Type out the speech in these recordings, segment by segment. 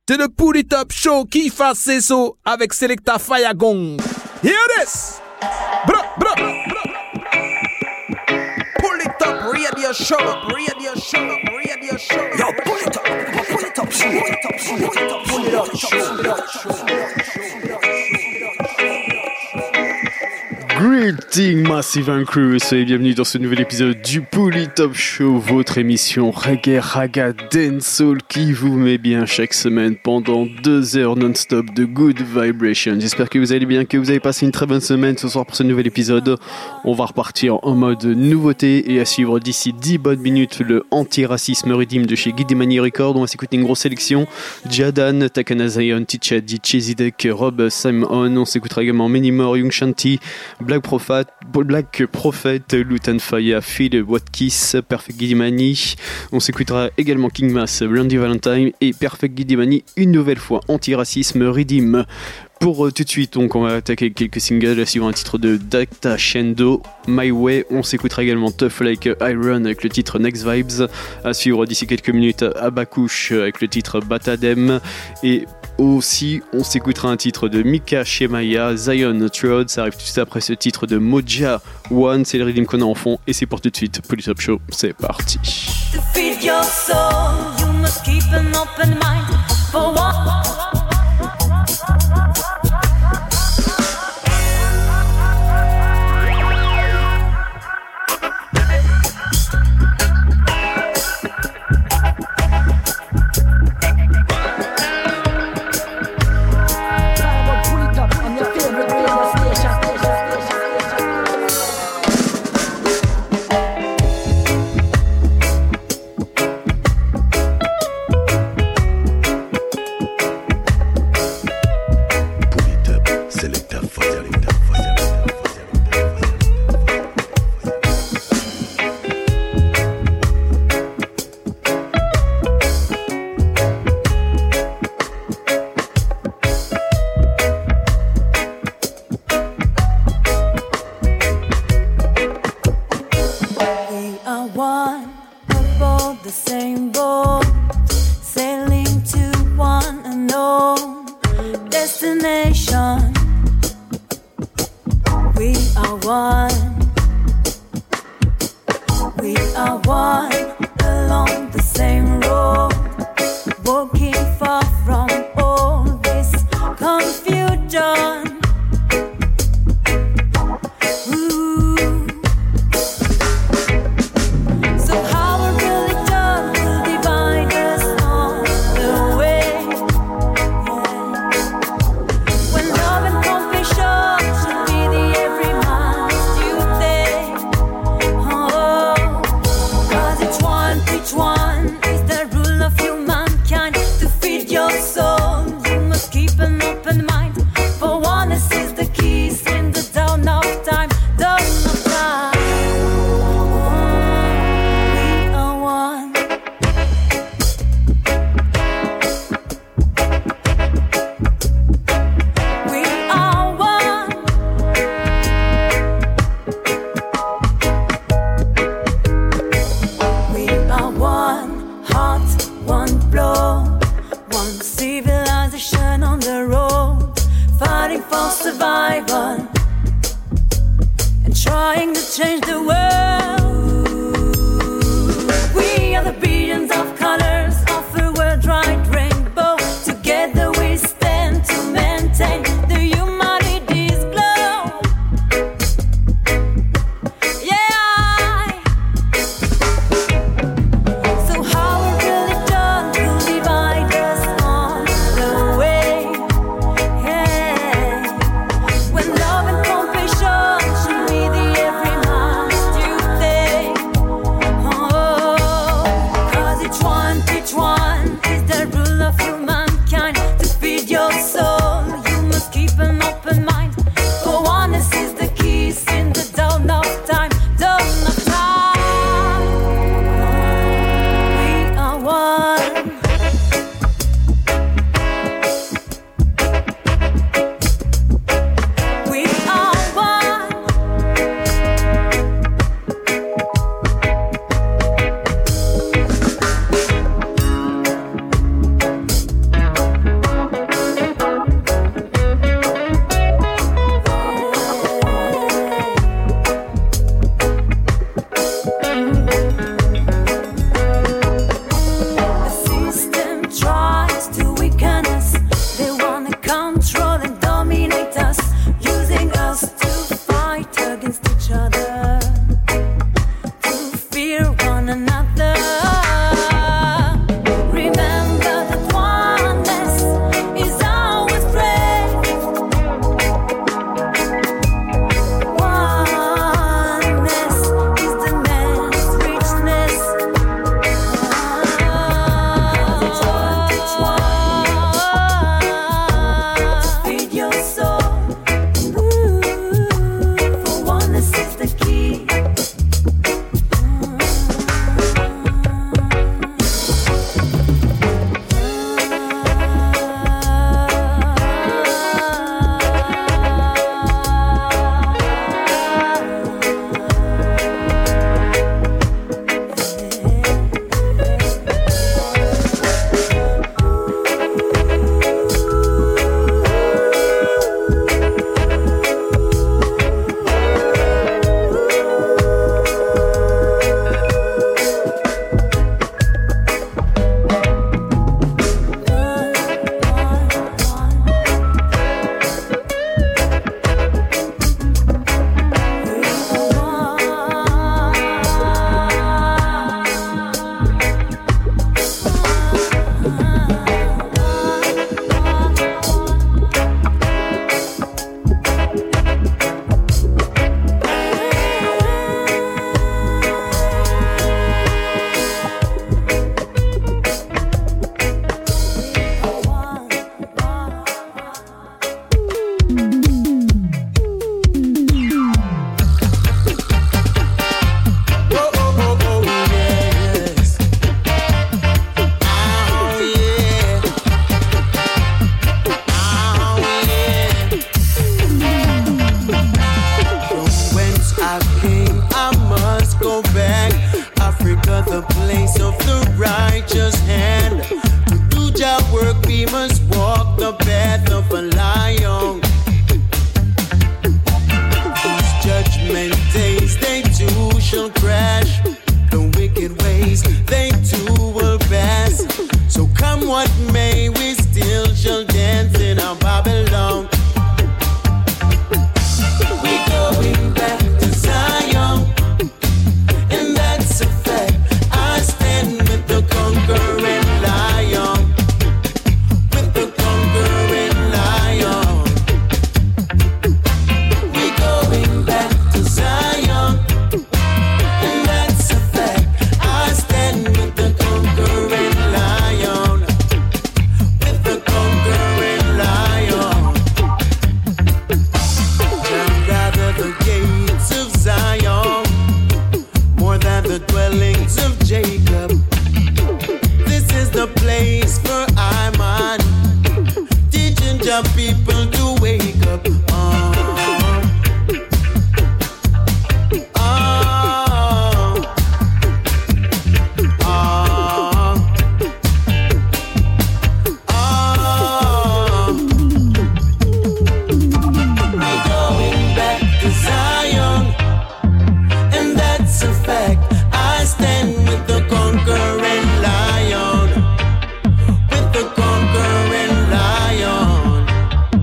C'est le Pull It Up Show qui fait ses sauts avec Selecta Fayagong. Here it is. Bra, bra, bra. Pull it up, radio show, radio show, radio show. Yo, pull it up, pull it up, pull it up, pull it up, pull it up, show. Greeting Massive and Crew, soyez bienvenus dans ce nouvel épisode du Pull It Up Show, votre émission reggae, raga, dancehall qui vous met bien chaque semaine pendant 2 heures non-stop de good vibration. J'espère que vous allez bien, que vous avez passé une très bonne semaine ce soir pour ce nouvel épisode. On va repartir en mode nouveauté et à suivre d'ici 10 bonnes minutes le anti-racisme redeem de chez Guidimani Records. On va s'écouter une grosse sélection: Jadan, Takana Zion, Ticha, DJ Zedek, Rob Simon. On s'écoutera également Many More, Young Shanti, Black Prophet, Lutan Faya, Phil Watkis, Perfect Guidimani. On s'écoutera également King Mass, Randy Valentine et Perfect Guidimani une nouvelle fois anti-racisme redeem. Pour tout de suite, donc, on va attaquer quelques singles, suivant un titre de Dacta Shendo, My Way. On s'écoutera également Tough Like Iron avec le titre Next Vibes. À suivre d'ici quelques minutes Abakush avec le titre Batadem. Et aussi, on s'écoutera un titre de Mika Shemaya, Zion Trod. Ça arrive tout de suite après ce titre de Moja One. C'est le rythme qu'on a en fond. Et c'est pour tout de suite. Pull It Up Show, c'est parti. To feed your soul, you must keep an open mind for what? When love and compassion should be the every man's duty. we must walk the path of a lion. These judgment days, they too shall crash. The wicked ways, they too will pass. So come what may, we still shall dance in our Babylon. We're going back to Zion, and that's a fact. I stand with the conquering lion, with the conquering lion. We're going back to Zion, and that's a fact. I stand with the conquering lion, with the conquering lion. Now gather the gates of Zion, more than the dwellings of Jacob. This is the place for Iman, teaching your people to wake up. We're going back to Zion, and that's a fact. I stand with the conquering lion, with the conquering lion.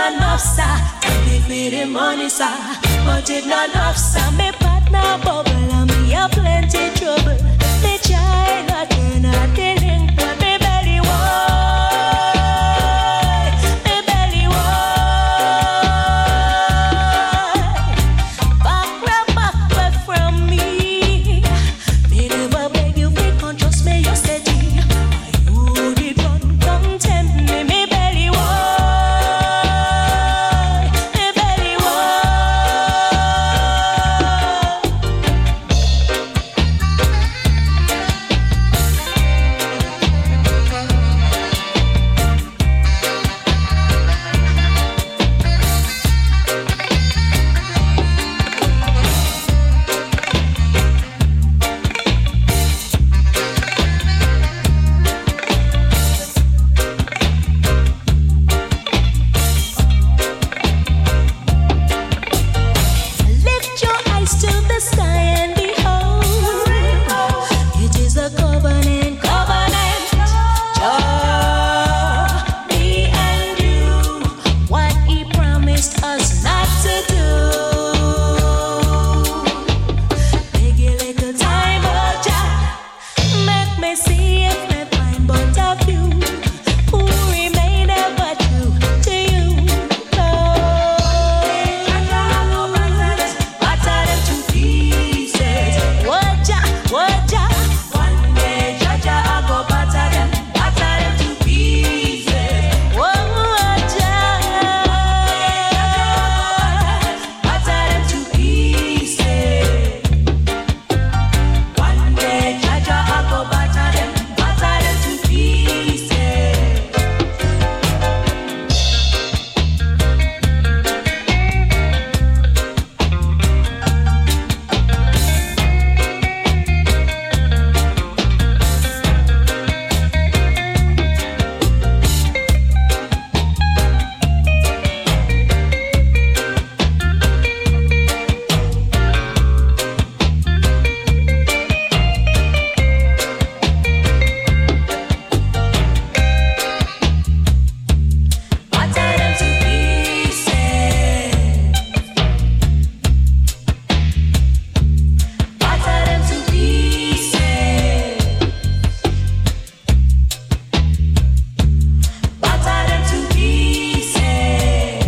not enough, sir. Give me the money, sir. But it not enough, sir. Me partner bubble and me a plenty trouble. Me try not to not delinquent. Me belly wide, me belly wide. Back away from me. Me never beg you, me can't trust me, you steady. You did run, don't tempt me, me belly wide, me belly wide. Lift your eyes to the sky and behold, it is a covenant, Jah, me and you, what He promised us not to do. Take a little time, oh Jah, make me see if me find but a few who remain ever true to you, Lord. Batter them to pieces. What Jah? One day, Jah, I go batter them to pieces. Oh, Jah, batter them to pieces. One day, Jah, I go batter them to pieces. Batter them to pieces. Batter them to pieces. Batter them to pieces.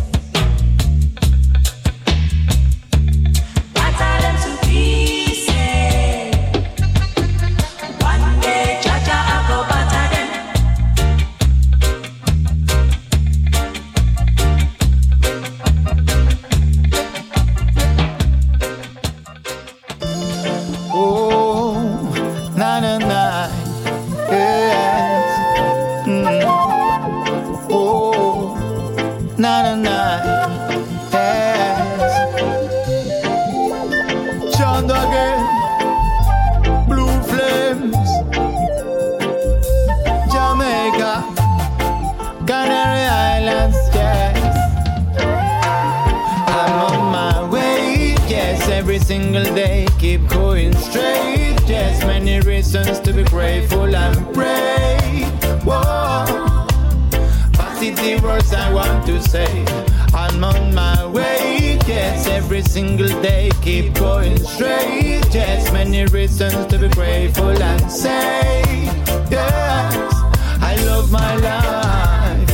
Batter them to pieces. One day, Jah, I go batter them. Oh, na na na, yes. Oh, na na na, yes. John again, Blue Flames, Jamaica, Canary Islands, yes. I'm on my way, yes, every single day, keep going straight. Yes, many reasons to be grateful and pray. Whoa, positive words I want to say. I'm on my way, yes, every single day, keep going straight. Yes, many reasons to be grateful and say, yes, I love my life.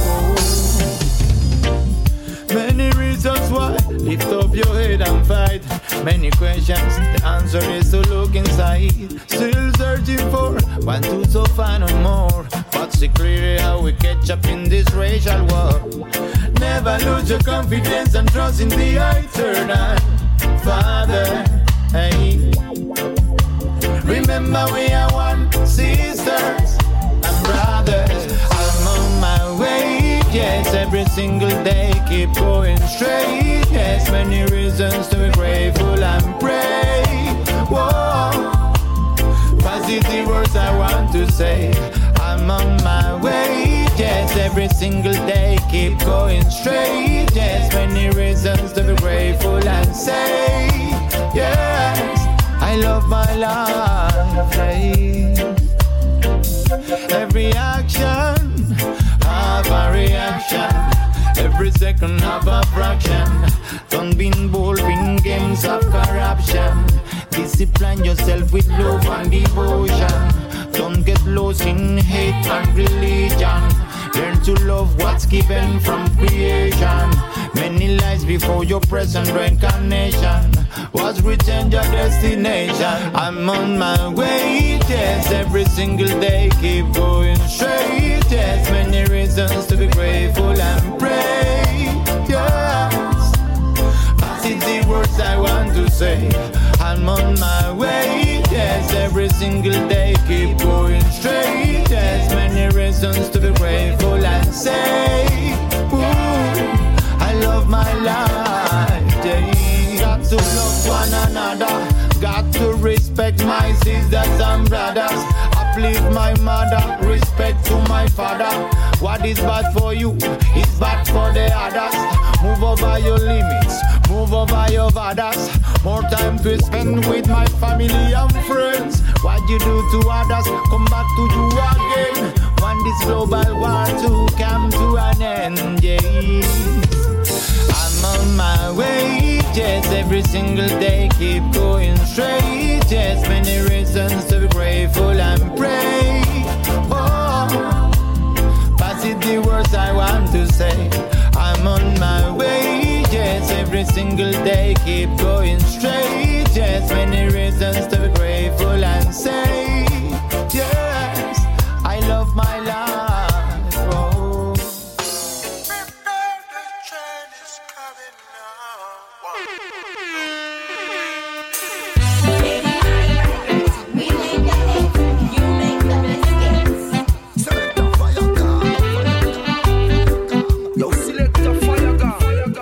Oh. Many reasons why, lift up your head and fight. Many questions, the answer is to look inside. Still searching for one to so find no more. But see clearly how we catch up in this racial war. Never lose your confidence and trust in the eternal Father. Hey, remember we are one, sisters and brothers. I'm on my way, yes, every single day, keep going straight. Yes, many reasons to be grateful and pray. Whoa, positive words I want to say. I'm on my way, yes, every single day, keep going straight. Yes, many reasons to be grateful and say, yes, I love my life. Hey. Every action have a reaction. Every second fraction of a fraction. Don't be involved in games of corruption. Discipline yourself with love and devotion. Don't get lost in hate and religion. Learn to love what's given from creation. Many lives before your present reincarnation was written your destination. I'm on my way, yes, every single day keep going straight. Yes, many reasons to be grateful and pray. Yes, but it's the words I want to say. I'm on my way, yes, every single day keep going straight. Yes, many reasons to be grateful and say, ooh, I love my life, yeah. Got to love one another, got to respect my sisters and brothers. Uplift my mother, respect to my father. What is bad for you is bad for the others. Move over your limits, move over your borders. More time to spend with my family and friends. What you do to others, come back to you again. When this global war to come to an end, yeah. I'm on my way, yes, every single day keep going straight. Yes, many reasons to be grateful and pray. Oh, pass it the words I want to say. I'm on my way, yes, every single day keep going straight. Yes, many reasons to be grateful and say, yes, I love my life. Oh. The train is coming We make the eggs, you make the biscuits. Select a fire gun. Yo, select a fire gun.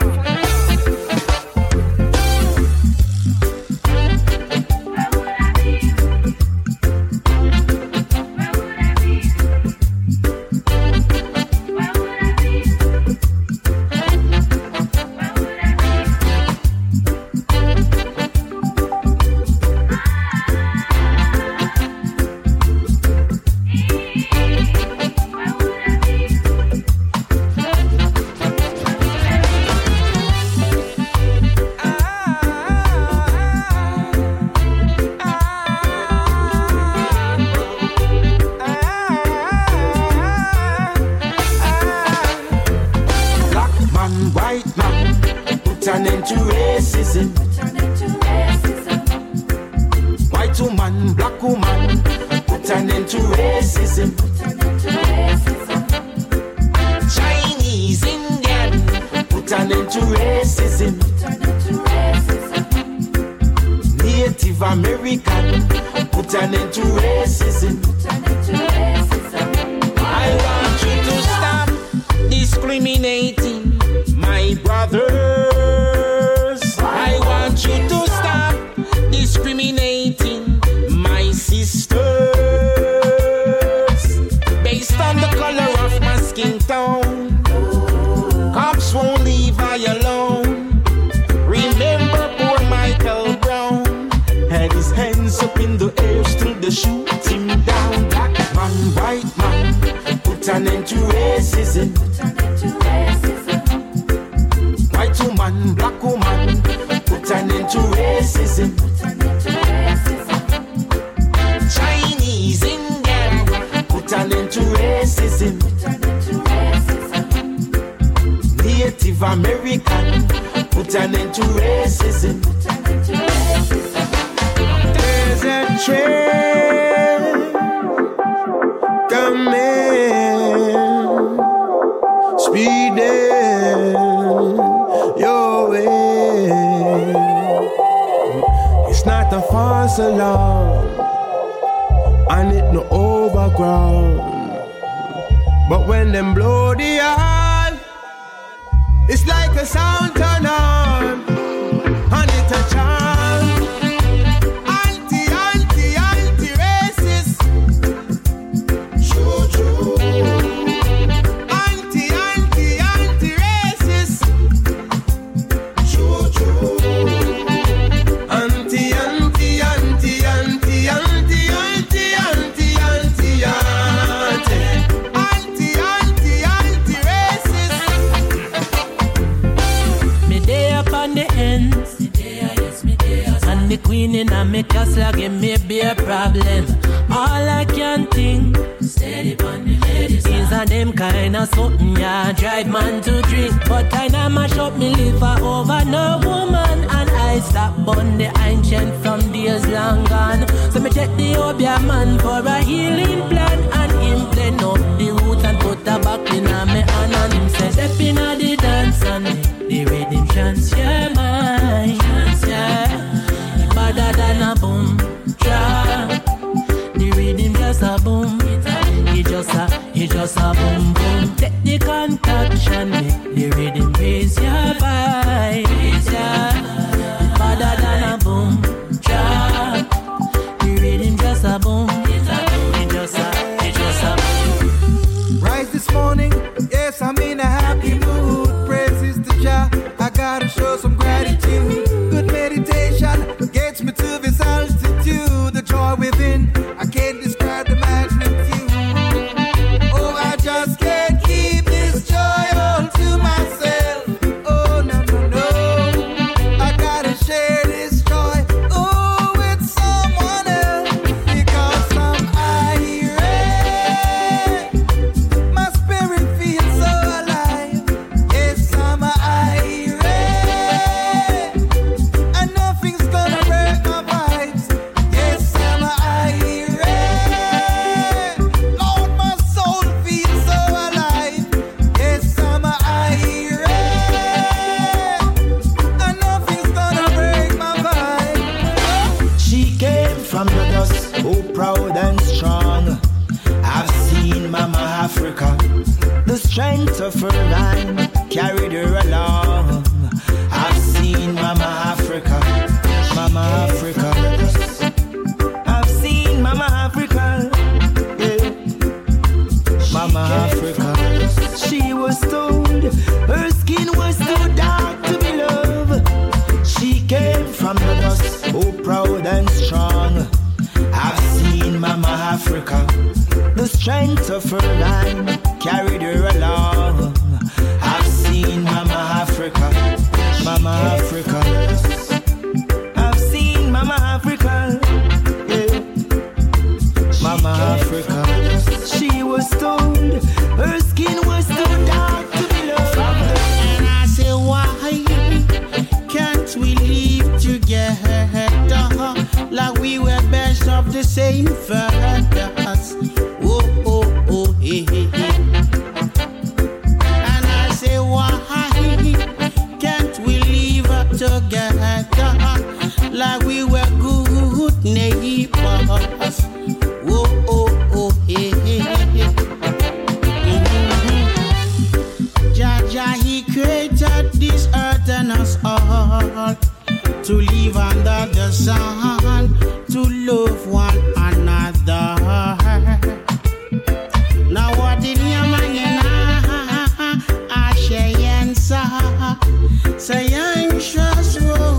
white man, put an end to racism. White woman, black woman, put an end to racism. Chinese, Indian, put an end to racism. Native American, put an end to racism. I want you to stop discriminating my brothers. I want you to stop discriminating my sisters based on the color of my skin tone. Cops won't leave I alone. Remember poor Michael Brown had his hands up in the air, still they shoot him down. Black man, white man, put an end to racism. White woman, black woman, put an end to racism. Chinese, Indian, put an end to racism. Native American, put an end to racism. There's a train coming, speeding your way. It's not a false alarm, and it no overground. But when them blow the horn, it's like a sound turn on, and it's a charm. Anti-racist. True, true. Anti-racist. True, true. Anti-racist. cleaning and me castle give me beer problem. All I can think, steady on the ladies. Things are them kind of something, yeah, drive man to drink. But I know mash up me liver over no woman. And I stop on the ancient from days long gone. So me check the Obia man for a healing plan. And him blend up the roots and put a back in a me hand. And him say, step in a the dance and the rhythm chance, yeah, mine. Chance, yeah. Better than a boom trap. The rhythm just a boom. It just a boom boom. Take the concoction, make the rhythm raise your vibes, yeah. Better than a boom trap. The rhythm just a boom. It just a boom. Rise this morning, yes, I'm in a happy mood. Praises to Jah, I gotta show some gratitude. Good meditation gets me to this altitude. The joy within, I can't describe the magnitude. Oh, I just can't keep this joy all to myself. Oh, no, no, no. I gotta share this joy, oh, with someone else. Because I'm irate. My spirit feels so alive. Yes, I'm irate. And nothing's gonna break my vibes. Yes, I'm irate. Lord, my soul feels so alive. Yes, I'm irate. And nothing's gonna break my vibes. She came from the dust, oh proud and strong. I've seen Mama Africa. The strength of her line carried her along. I've seen Mama Africa, Mama Africa. I've seen Mama Africa, yeah. Mama Africa. She was told her skin was too dark to be loved. She came from the dust, oh proud and strong. I've seen Mama Africa. The strength of her line carried her along. I've seen Mama Africa, Mama Africa. I've seen Mama Africa, yeah. Mama Africa. She was told her skin was too dark to be loved. And I say, why can't we live together like we were best of the same fathers? Oh, oh, oh, hey, hey, hey. And I say, why can't we live together like we were good neighbors? Oh, oh, oh, hey, hey, hey. Jah, he created this earth and us all to live under the sun, to love one another. Now what did you mean? I say say anxious.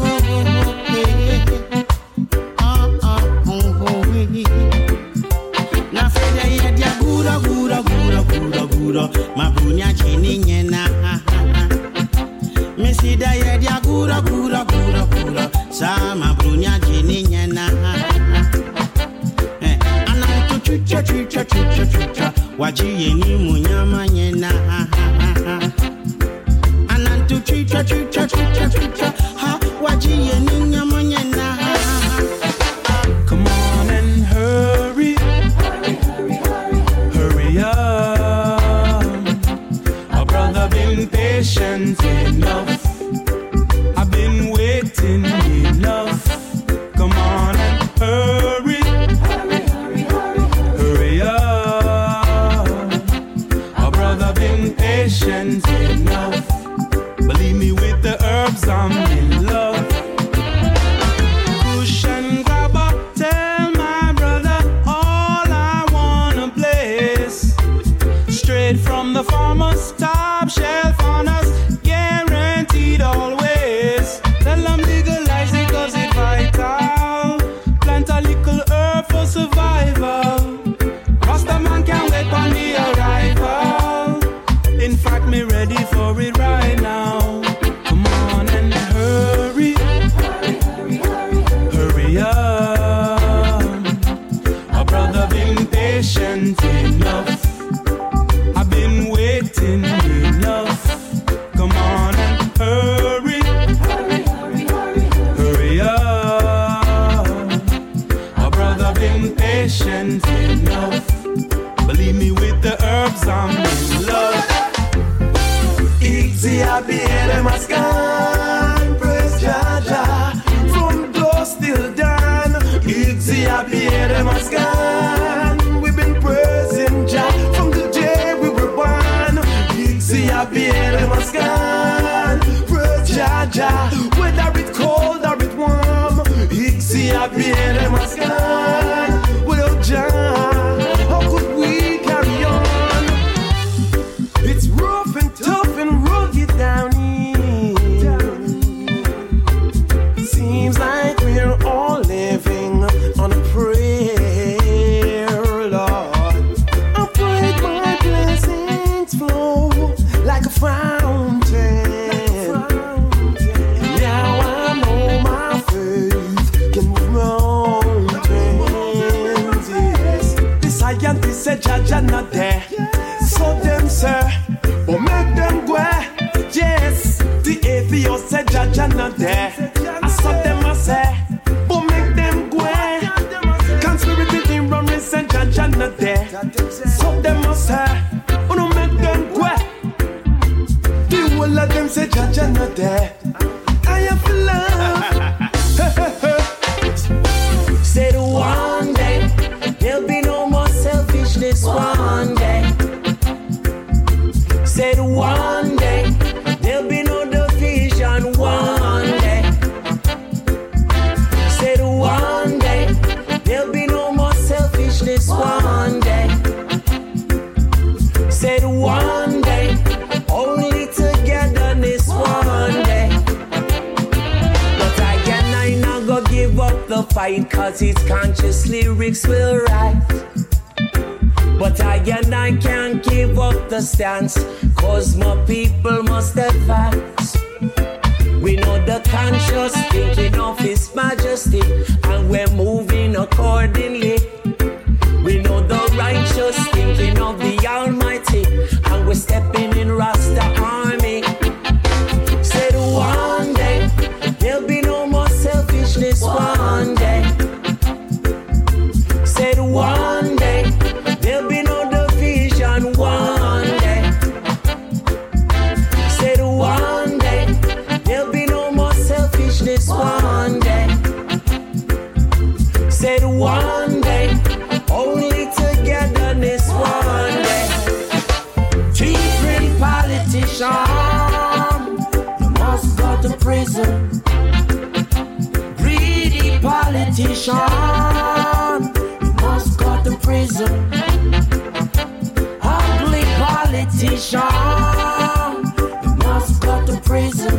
Na fede ye dia gura mabunya chini nyena. Me si da ye dia gura sa mabunya chini nyena. Anantu chucha waji yeni munyama nyena. Anantu chucha ha waji yeni nyama nyena. Come on and hurry up. My brother been patient enough. I've been waiting enough. Come on and hurry up. My brother been patient enough. Believe me, with the herbs I'm in patient enough. I've been waiting enough. Come on and hurry up. My brother been patient enough. Believe me, with the herbs I'm in love. Easy, I be in my scan. Praise Jaja from dusk till dawn. Easy, I be in my scan. We've been praising Jah from the day we were born. Easy, I be in my scan. Praise Jaja, whether it's cold or it's warm. Easy, I be in my scan. Without Jah, how could we carry on? It's rough and tough and rugged down here. Seems like we're all living on a prayer, Lord. I pray my blessings flow like a fountain. Now I know my faith can move mountains. Yes. The scientists said Jaja not there, so them sir, but make them go. Yes, the atheist said Jaja not there. I saw them I say, but make them go. Conspiracy in run said Jaja not there. So them I say, but don't make them go. The whole of them say Jaja not there. I have love. Said one day there'll be no more selfishness. One day. Said one day there'll be no division. One day. Said one day there'll be no more selfishness. One day. Said one day only togetherness. One day. But I not go give up the fight, 'cause his conscious lyrics will write. But I can't give up the stance, 'cause my people must advance. We know the conscious thinking of His Majesty, and we're moving accordingly. We know the righteous thinking of the Almighty, and we're stepping in Rasta army. Said one day there'll be no more selfishness. One day. Said one day there'll be no division. One day. Said one day there'll be no more selfishness. One day. Said one day only togetherness. One day. Different politician, you must go to prison. Greedy politician, you must go to prison. Ugly politician, you must go to prison.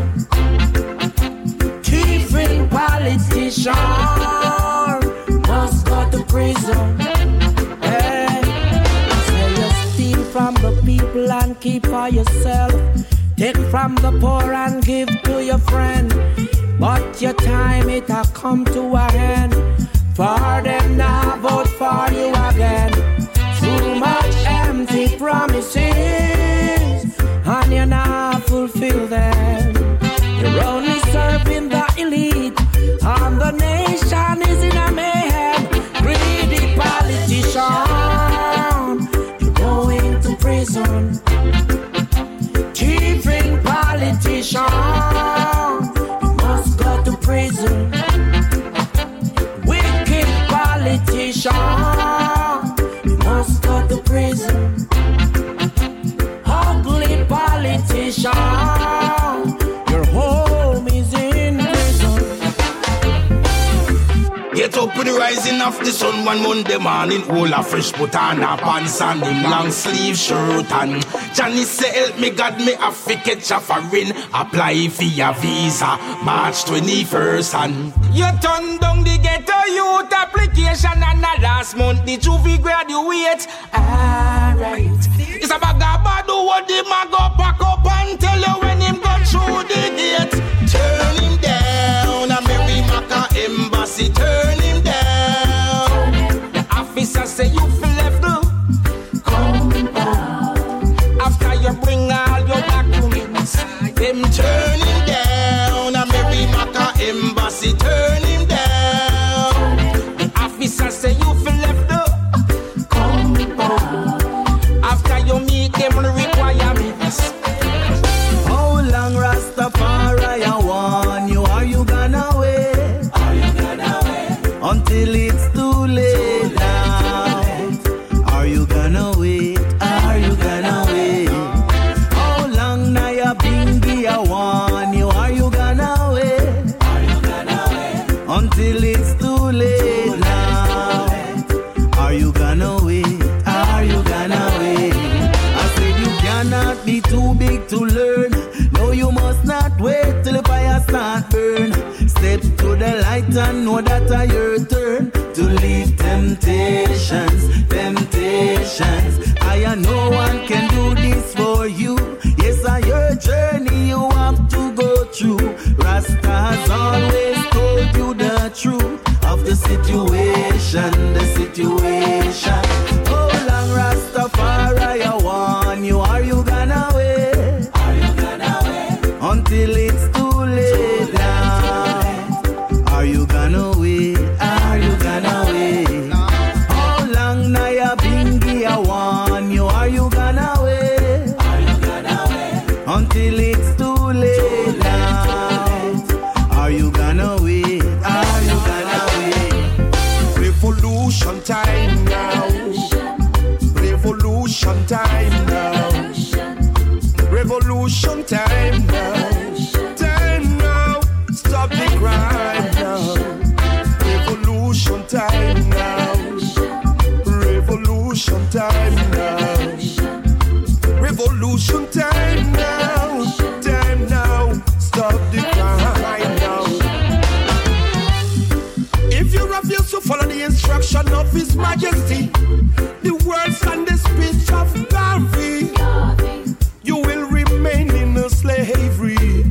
Different politician, you must go to prison. Hey, say you steal from the people and keep for yourself. Take from the poor and give to your friend. But your time it has come to an end. For them now vote for you again. Too much empty promises, and you now fulfill them. You're only serving the elite, and the nation is in a mayhem. Greedy politician, you're going to prison. Thieving politician, you must go to prison. Wicked politician, you must go to prison. Ugly politician, your home is in prison. Get up with the rising of the sun one Monday morning. All a fresh put on a pants and him long sleeve shirt and Johnny say help me God me a fi catch a foreign. Apply for your visa March 21st and you turn down the ghetto youth application and the last month the juvie graduate. Alright, it's a bag of bad what the man go pack up and tell you when him go through the gate. Turn him down, a Mary Maca embassy. Turn him down. The officer say you feel left. until it's too late now. Are you gonna wait? Are you gonna wait? How long now you bingy? I want you. Are you gonna wait? Are you gonna wait? Until it's too late now. Are you gonna wait? Are you gonna wait? I said you cannot be too big to learn. No, you must not wait till the fire start burn. Step to the light and know that it's your turn to leave temptations, temptations. I know one can do this for you. Yes, I your journey you have to go through. Rasta has always told you the truth of the situation, the situation. Oh, long Rastafari, I want you. Are you gonna wait? Are you gonna wait? Until it's too late now. Are you gonna wait? Are you gonna wait? How long now you bingy? I want you. Are you gonna wait? Are you gonna wait? Until it's too late now. Are you gonna wait? Are you gonna wait? Revolution time now. Revolution time now. Revolution time now. Time now. Stop the crime now. Revolution time now. Revolution time now. Revolution time now. Time now. Stop the crime now. If you refuse to follow the instruction of His Majesty, the words and the speech of Garvey, you will remain in a slavery.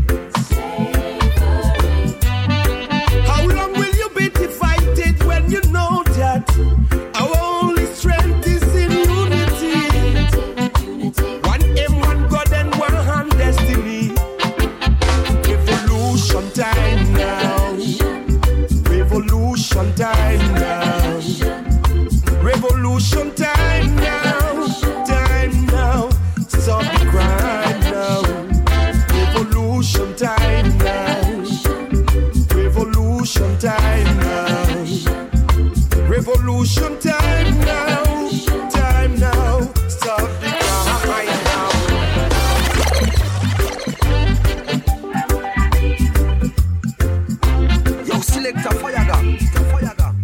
How long will you be divided when you know that our only strength is in unity? One aim, one God, and one destiny. Revolution time now. Revolution time now. Revolution time now. Time now. Stop the crime now. Revolution time now. Revolution time now. Revolution time now. Time now. Stop the crime now. Yo, select a fire gun. Fire gun.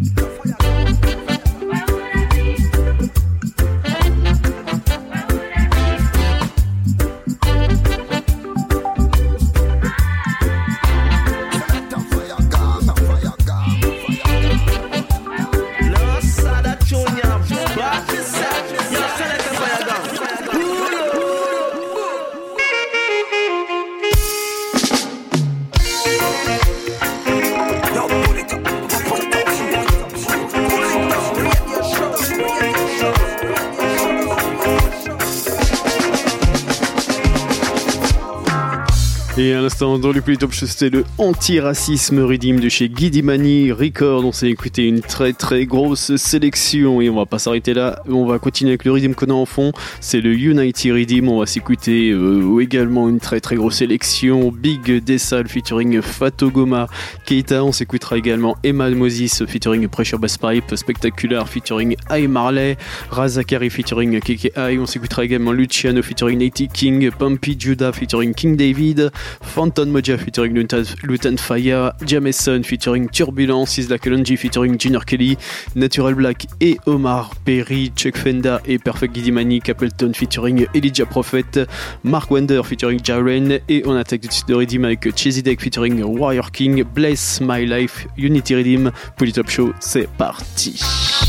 Et à l'instant, dans le plus top show, c'était le Antiracisme Rhythm de chez Guidimani Record. On s'est écouté une très très grosse sélection et on va pas s'arrêter là. On va continuer avec le rhythm qu'on a en fond. C'est le Unity Rhythm. On va s'écouter également une très très grosse sélection. Big Dessal featuring Fatogoma Keita. On s'écoutera également Emma Moses featuring Pressure Bass Pipe. Spectacular featuring I Marley. Razakari featuring KKI. On s'écoutera également Luciano featuring Nate King. Pumpy Judah featuring King David. Phantom Moja featuring Lutan Fire, Jameson featuring Turbulence, Isla Kalonji featuring Junior Kelly, Natural Black et Omar Perry, Chuck Fenda et Perfect Guidimani, Capleton featuring Elijah Prophet, Mark Wonder featuring Jaren, et on attaque tout de suite de Redeem avec Chesy Deck featuring Warrior King, Bless My Life, Unity Redeem, Polytop Show, c'est parti.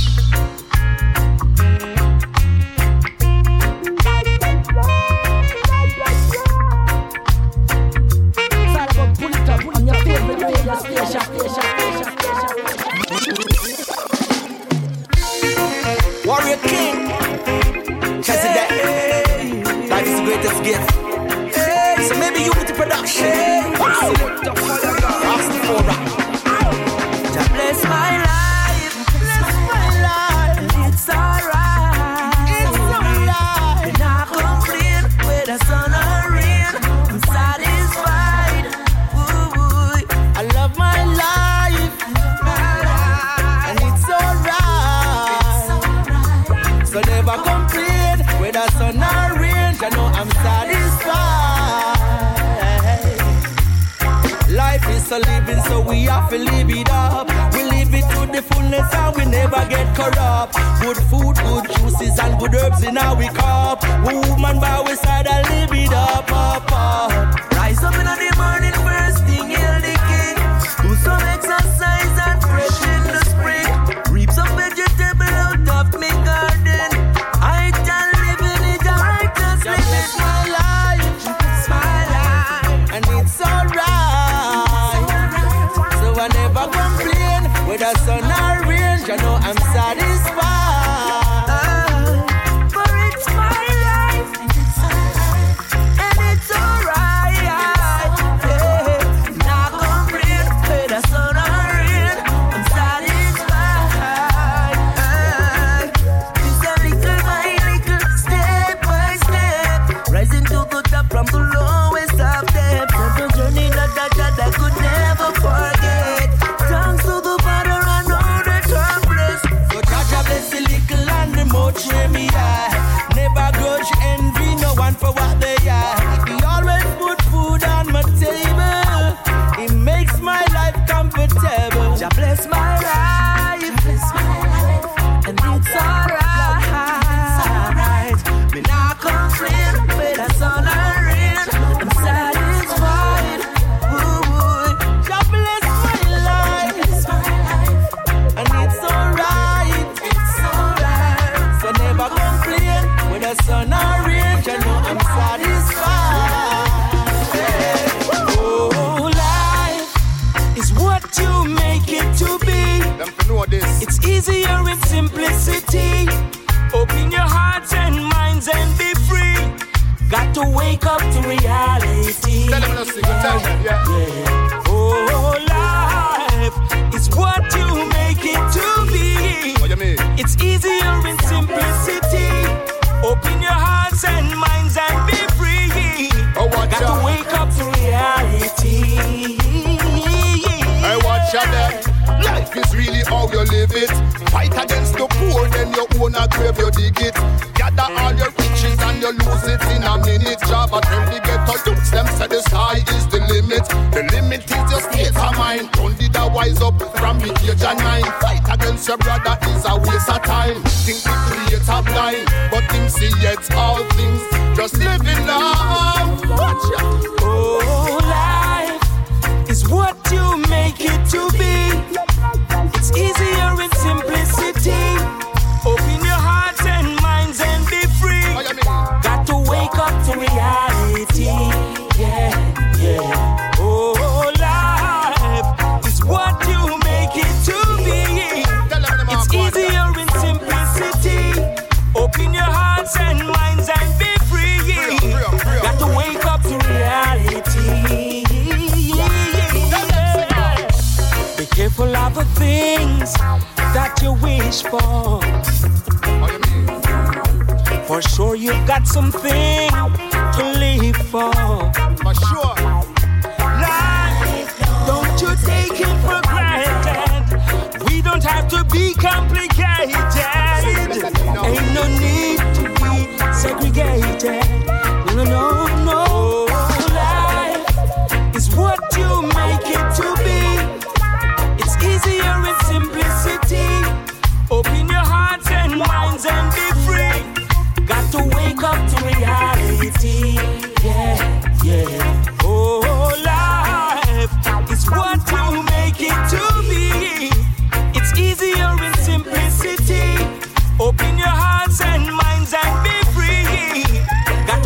Warrior King, Chesy Deck, life is the greatest gift. So maybe Unity Production, select a fire gun, ask for rap. Just bless my life, it's alright, We're not complain with the sun or rain, I'm satisfied. Ooh, I love my life, and so we have to live it up. We live it to the fullness and we never get corrupt. Good food, good juices and good herbs in our cup. Woman by our side and live it up, up, up. Rise up in the morning, first thing, hail the king. Do some exercise and fresh in the spring. Reap some vegetable out of me garden. I can live in it, I just live it. My life, it's my life, and it's alright. So I never complain, whether sun or rain, you know I'm satisfied. For it's my life, and it's alright. Not complain, whether sun or rain, I'm satisfied. Just a little by little, step by step, rising to the top from the lowest of depths. The journey that I could never forget. Thanks to the Father, I know that I'm blessed. So Jaja bless the little and the much where me are. Never grudge, envy no one for what they are. He always put food on my table. It makes my life comfortable. Jah bless my life, and it's alright. Me not complain, whether sun or rain, I'm satisfied. Ooh, Jah bless my life, and it's alright. So never complain, whether sun or rain, you know I'm satisfied. Oh, life is what you make it to be. It's easier in simplicity. Open your hearts and minds and be free. Got to wake up to reality. Yeah. Oh, life is what you make it to be. What you mean? It's easier in simplicity. Open your hearts and minds and be free. Got to wake up to reality. Hey, watch out there. Life is really how you live it. Fight against the poor, then you own a grave, you dig it. Gather all your riches and you lose it in a minute. Job at every ghetto youths, them say the sky is the limit. The limit is your state of mind. Don't did a wise up from the age of 9. Fight against your brother is a waste of time. Think the creator blind, but him see yet all things. Just living love. Watch out. Oh, life is what you make it to be. It's easier in simplicity. Open your hearts and minds and be free. Got to wake up to reality. Yeah, yeah. Oh, life is what you make it to be. It's easier in simplicity. Open your hearts and minds and be free. Got to wake up to reality. Be careful of the things that you wish for. For sure you've got something to live for. For sure. Life, don't you take it for granted. We don't have to be complicated. Ain't no need to be segregated. No, no, no. Life is what you make it to be. It's easier in simplicity. Open your hearts and minds and be free. Got to wake up to reality. Yeah, yeah. Oh, life is what you make it to be. It's easier in simplicity. Open your hearts and minds and be free. Got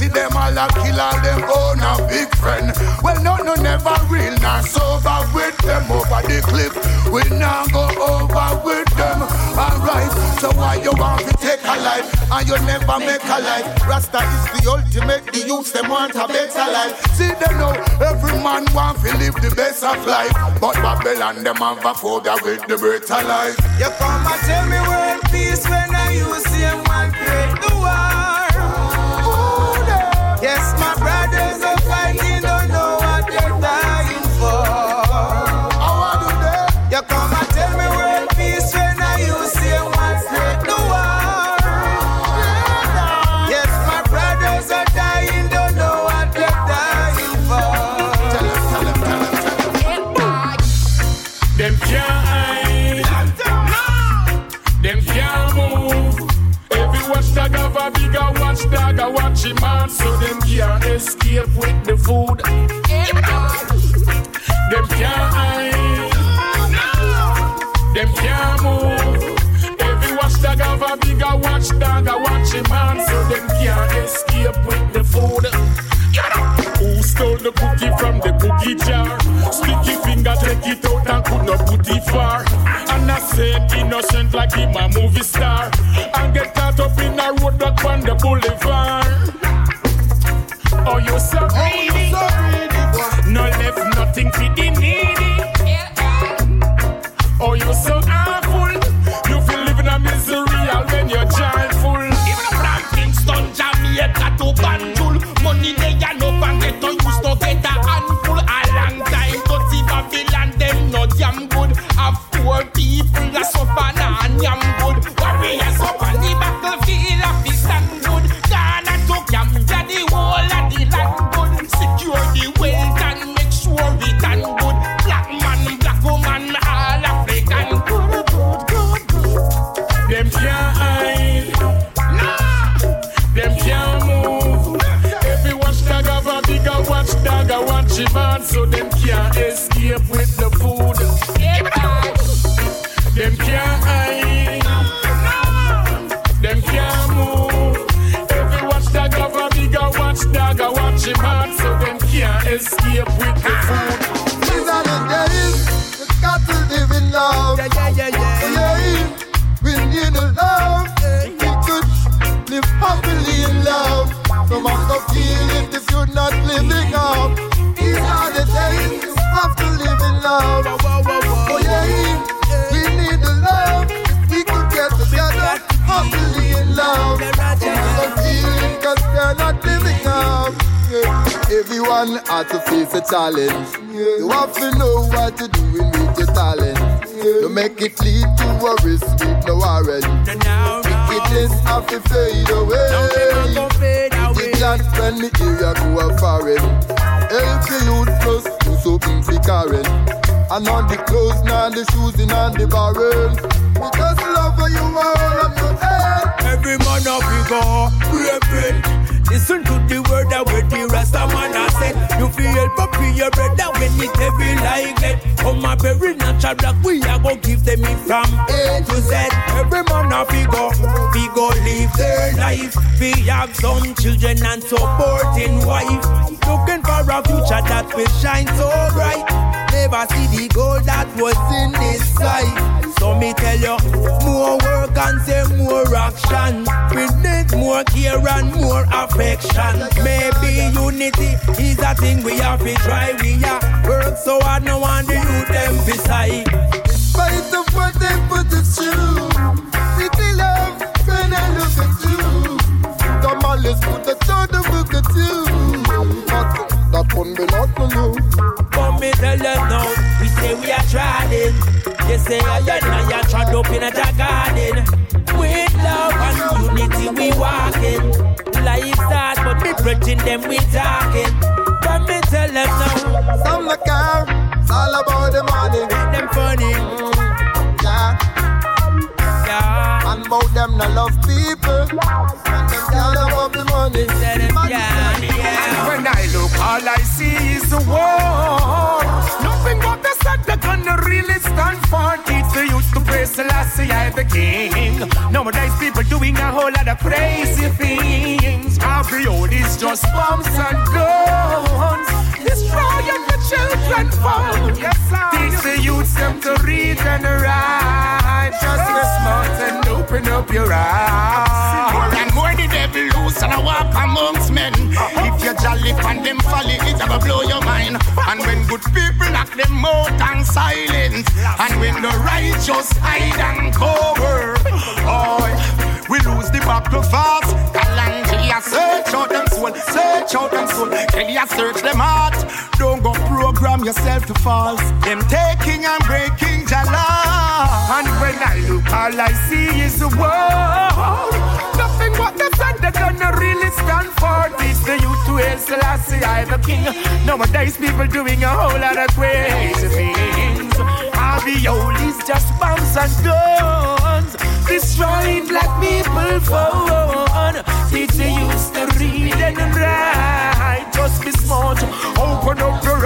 see them all a kill all them own a big friend. Well, no never real, not sober with them over the cliff. We now go over with them. Alright, so why you want to take a life and you never make a life? Rasta is the ultimate, the youths them want a better life. See them now, every man want to live the best of life, but Babylon them have a phobia with the better life. You come and tell me world peace when I use him and create the war. Yes, my brothers are fighting, don't know what they're dying for. You come and tell me world peace when I use him and create the war. Yes, my brothers are dying, don't know what they're dying for. Them can't hide, them can't move. Every watchdog have a bigger watchdog, a watch him man, so them can't escape with the food. Them can't hide, them can't move. Every watchdog have a bigger watchdog, a watch him man, so them can't escape with the food. Who stole the cookie from the cookie jar? Sticky finger take it out and could not put it far. And I said innocent like him a movie star, and get caught up in a roadblock on the boulevard. Oh, you so greedy, no left nothing for the needy. Oh, you so awful, you feel living a misery all when you're joyful. Even from Kingston, Jamaica to Banjul, money they are no bank get to use to get a handful. A long time to see Babylon, them no damn good. Have poor people that suffer and yam good. Warriors up on the battlefield of the stand good. Ghana to Gambia, the whole of the land good. Secure the wealth and make sure we can good. Black man, black woman, all African good. Them can't hide, nah. Them can't move. Every watchdog have a bigger watchdog, a watch him on, so them can't escape with the food. Them can't hide, them can't move. Every watchdog have a bigger watchdog, a watch him on, so them can't escape with the food. These are the days you got to live in love. We need a love. We could live happily in love. No matter feeling if you're not living up. These are the days you have to live in love. Oh yeah, we need a love. We could get together happily in love. No matter feeling 'cause they're not living up. Everyone has to face a challenge. You have to know what to do with your talent. To make it lead to a risk with no warrant. Wickedness have to fade away. The glad friendly area go a foreign. Help the youth plus do something for Karen. And on the clothes, now the shoes in and the barrel. We just love you all of your head. Every man of you go, reverend. Listen to the word that with the rest of man I said. You feel for your brother when it heavy like that. Come a very natural black, we are gonna give them it from A to Z. Every man of you go live their life. We have some children and supporting wife. Looking for a future that will shine so bright. Never see the gold that was in this sight. So me tell you, more work and say more action. We need more care and more affection. Maybe unity is a thing we have to try. We are work so hard, no one do you them beside. Spite of what they put us through, city love, when I look at you. Come on, let's put the third look at you. That one be not for you. But me tell you now, we say we are trying. They say I are trod up in a garden. With love and unity we walking. Life start, but me preaching them we talking. But me tell them now, some the car, it's all about the money. Make them funny. Yeah. And about them not love people. And them all about the money. When I look, all I see is the war. Nothing but the set that gonna really stand for. Teach the youth to praise Selassie, I the king. Nowadays people doing a whole lot of crazy things. Every old is just bombs and guns. Destroy every children phone. Yes, sir. Teach the youths them to read and write. Just be smart and open up your eyes. More and more the devil loose and I walk amongst men. If you're jolly and them folly, it's gonna blow your mind. And when good people knock them out and silence, and when the righteous hide and cover, oh, we lose the battle fast. Kalangia search out them soul, search out them soul. Kelia search them heart. Don't go program yourself to false. Them taking and breaking Jala. And when I look, all I see is the world. Nothing but the sun they're gonna really stand for. Teach the youth to hail Selassie, I the king. Nowadays people doing a whole lot of crazy things. All the old is just bombs and guns, destroying black people phone. Teach the youth to read and write. Just be smart, open up your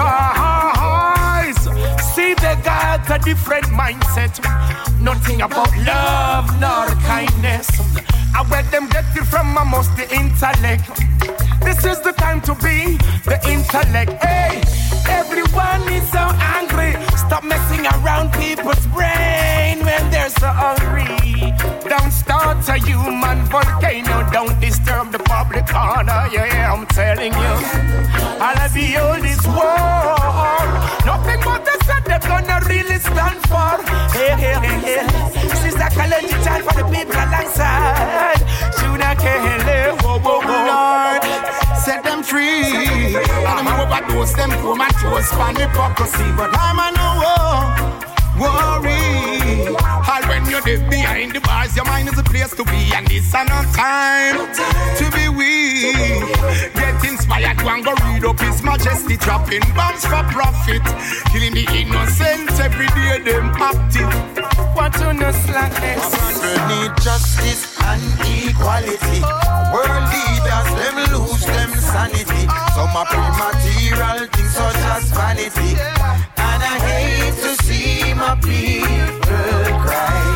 eyes. See they got a different mindset. Nothing about love nor kindness. I bet them get it from almost the intellect. This is the time to be the intellect. Hey, everyone is so angry. Stop messing around people's brain when they're so hungry. Don't start a human volcano. Don't disturb the public order. Yeah, I'm telling you. All of the oldest war. Nothing but the sun they're gonna really stand for. Hey, hey, hey, hey. Sister Kalenji chant for the people alongside. Shuna Kele, whoa, whoa, whoa. Lord, set them free. And I'm overdose them poor man toes for hypocrisy. But I'm a no worry. All when you're dead behind the bars, your mind is a place to be. And this is not time to be weak. Get inspired, go and go read up His Majesty. Dropping bombs for profit, killing the innocent every day, them active. Want to know slackness? People need justice and equality. World leaders, them lose them sanity. Some are pre-material things such as vanity. And I hate to see my people cry.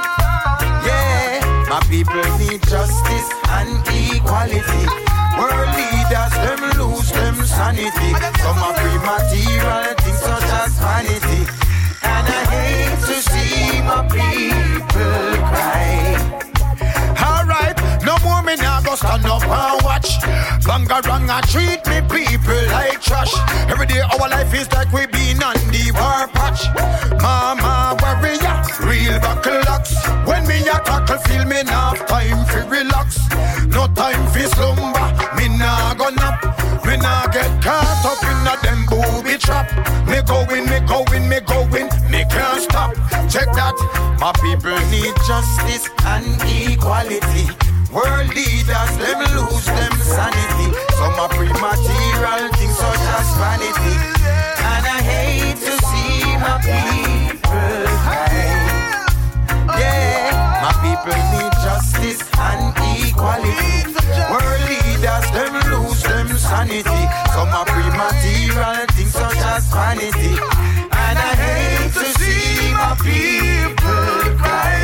Yeah, my people need justice and equality. World leaders, them lose them sanity. Some are pre-material things such as vanity. And I hate to see my people cry. Alright, no more me now go stand up and watch. Bangaranga treat me people like trash. Every day our life is like we been on the war patch. Mama warrior, real buckle locks. When me a tackle feel me now time for relax. No time for slumber, me nah go nap. Me nah get caught up in a them booby trap. Me going, me going, me going, me can't stop. Check that. My people need justice and equality. World leaders, them lose them sanity. Some are pre-material things such as vanity. And I hate to see my people cry. Yeah, my people need justice and equality. World leaders, them lose them sanity. Some are pre-material things such as vanity. And I hate to see my people cry.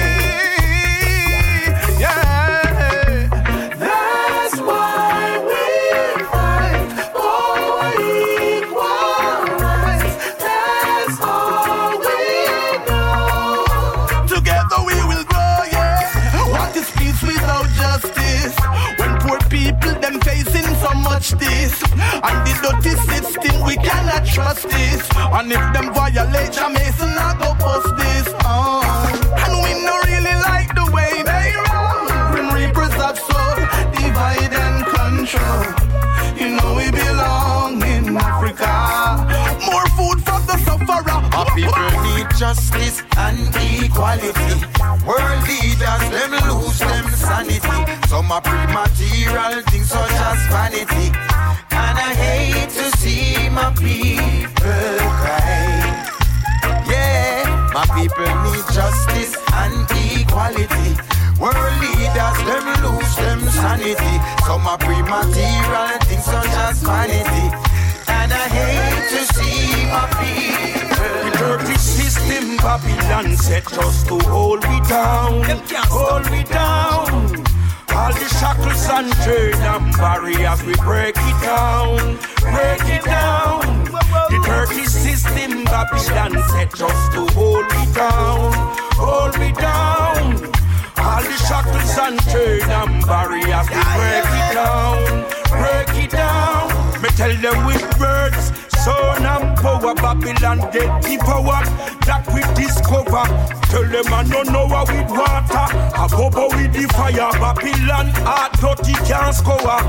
Yeah, that's why we fight for equal rights. That's all we know. Together we will grow, yeah. What is peace without justice? When poor people them facing so much this, and the dirty system we cannot trust this. And if them violate Jamaican, I go post this. And we no really like the way they run. Grim Reapers have soul, divide and control. You know we belong in Africa. More food for the sufferer. Our people need justice and equality. World leaders, them lose them sanity. Some are pre-material things such as vanity. And I hate to see my people cry. Yeah, my people need justice and equality. World leaders, them lose them sanity. Some are pre-material things such as vanity. And I hate to see my people. The dirty system Babylon set us to hold we down. Hold we down. All the shackles and chains and barriers, we break it down, break it down. The dirty system Babylon set us to hold me down, hold me down. All the shackles and chains and barriers, we break it down, break it down. Me tell them with words, son and power, Babylon get the power that we discover. Tell them I don't know how with water, I bubble with the fire. Babylon heart dirty can't score.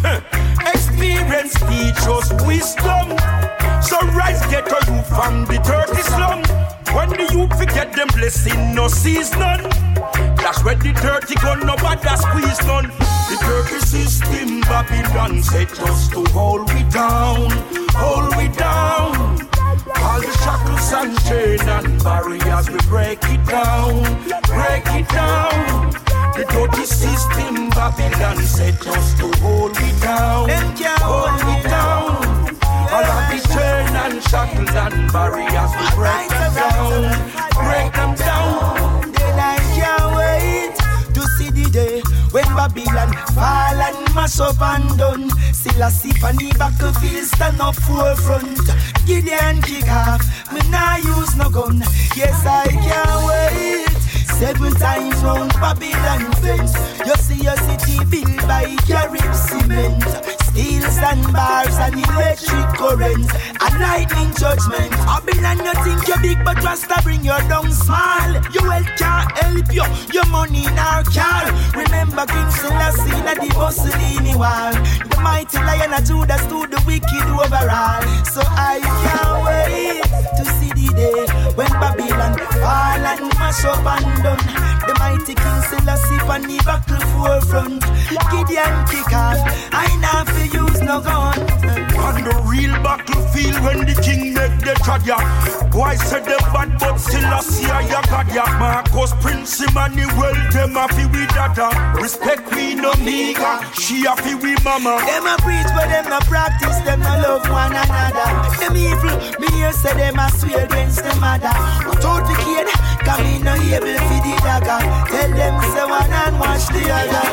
Experience teach us wisdom. So rise get a youth from the dirty slum. When the youth forget them blessing, no sees none. That's when the dirty gun, nobody squeeze none. The dirty system, Babylon set us to hold we down, hold we down. All the shackles and chains and barriers, we break it down, break it down. The dirty system, Babylon set us to hold we down, hold we down. All of the chains and shackles and barriers, we break them down, break them down. Then I can't wait to see the day when Babylon fall and mash up and done. Still a sip on the battlefield, stand up forefront. Gideon kick off, me nah use no gun. Yes, I can't wait. 7 times round Babylon fence. You see your city built by Carib cement. Steels and bars and electric currents and lightning judgment. Babylon, you think you're big, but Rasta bring you down small. Your wealth can't help you, your money in our car. Remember King Selassie at the Mussolini wall. The mighty Lion of Judah stood the wicked overall. So I can't wait to see the day when Babylon fall and mash up and done. The mighty King Selassie on the battle forefront. Gideon kick off, I now feel use no gun. On the real battlefield when the king make the tragedy. Boy said the bad but Selassie I got ya. Marcus Prince Emmanuel them a fi with dada. Respect me no nigga, she a fi with mama. Them a preach but them no practice, them no love one another. Them evil, me here say them a swear against them mother. Without the kid, come in no able fi the dagger. Tell them say one and watch the other.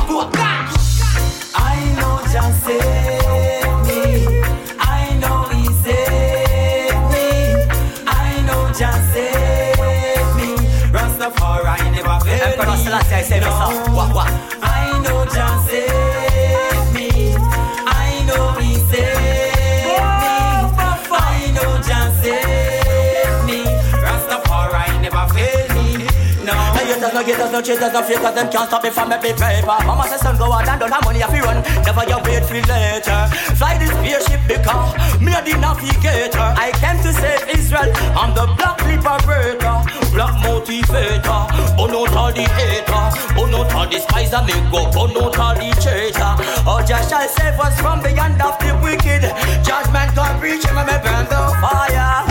I know just save me. I know he saved me. I know just save me. Rastafari never failed me. No. I know just save me. I know he saved me. I know just save me. Rastafari never failed me. No. Haters no haters no cheaters no fakers, them can't stop me from making paper. Mama says son go out and done her money if you run. Never you wait for later. Fly this spaceship because me a the navigator. I came to save Israel. I'm the black liberator, black motivator. Burn out all the hater, burn out all the spies that make go, burn out all the traitor. Oh, Jah shall save us from the hand of the wicked. Judgment God reach him and me burn the fire.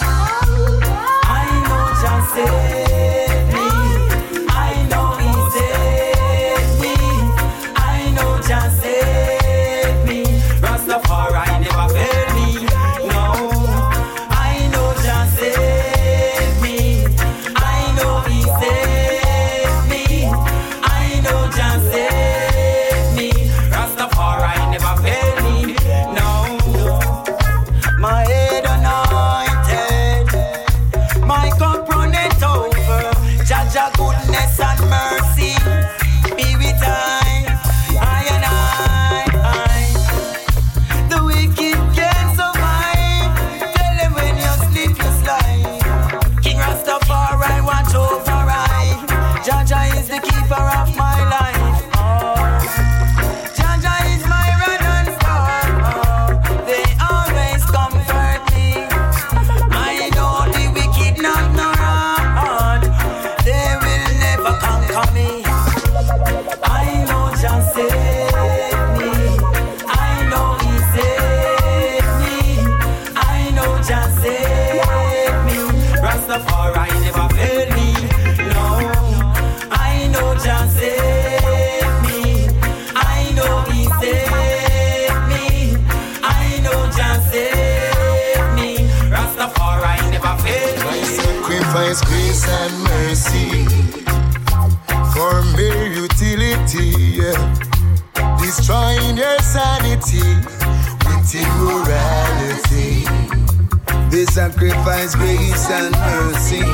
I know Jah save. they sacrifice grace and mercy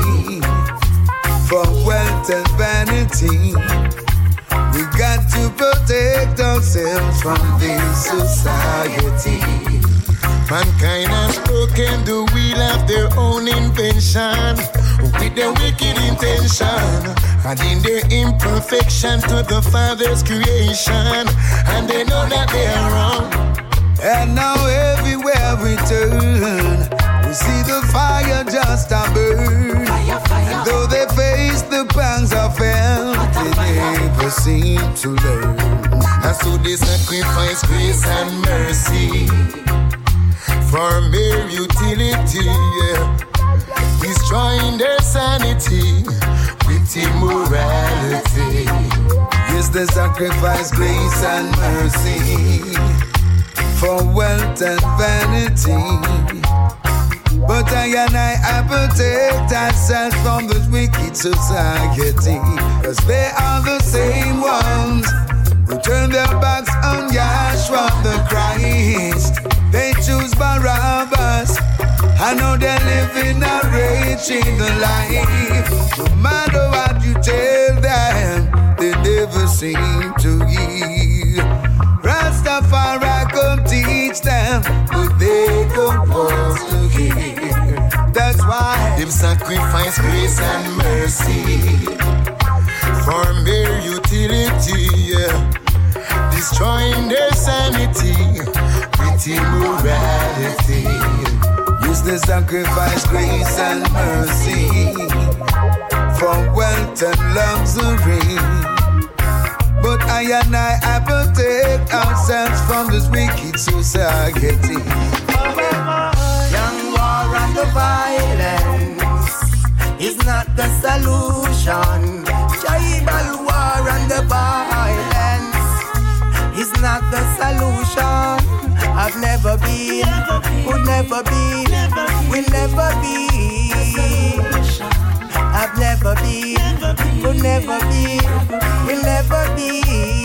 for wealth and vanity. We got to protect ourselves from this society. Mankind has broken the wheel of their own invention with their wicked intention, adding their imperfection to the Father's creation, and they know that they are wrong. And now everywhere we turn, we see the fire just a burn. And though they face the pangs of hell, they never seem to learn. And so they sacrifice grace and mercy for mere utility, destroying their sanity with immorality. Yes, they sacrifice grace and mercy for wealth and vanity. But I protect ourselves from this wicked society, 'cause they are the same ones who turn their backs on Yahshua the Christ. They choose Barabbas. I know they're living a raging life. No matter what you tell them, they never seem to hear. Rastafari come teach them, but they don't want to hear. That's why they sacrifice grace and mercy for mere utility, destroying their sanity with immorality. Use the sacrifice grace and mercy for wealth and luxury. But I protect ourselves from this wicked society. Young war and the violence is not the solution. Tribal war and the violence is not the solution. I've never been, would never be, will never be. I've never been, would never be, will never be.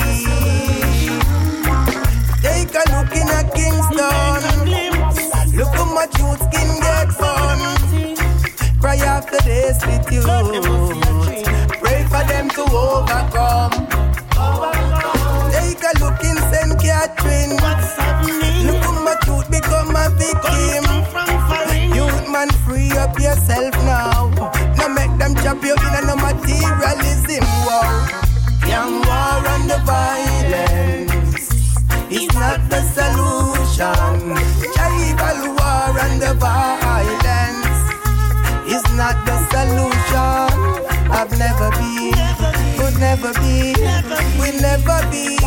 Take a look in at Kingston. Look how much youth skin get fun. Cry after they split you. Pray for them to overcome. Take a look in St. Catherine. Look how much youth become a victim. Youth man, free up yourself now. Now make them chop you in a no materialism war. Young war and the violence is not the solution. Tribal war and the violence is not the solution. I've never been, could never be, will never be.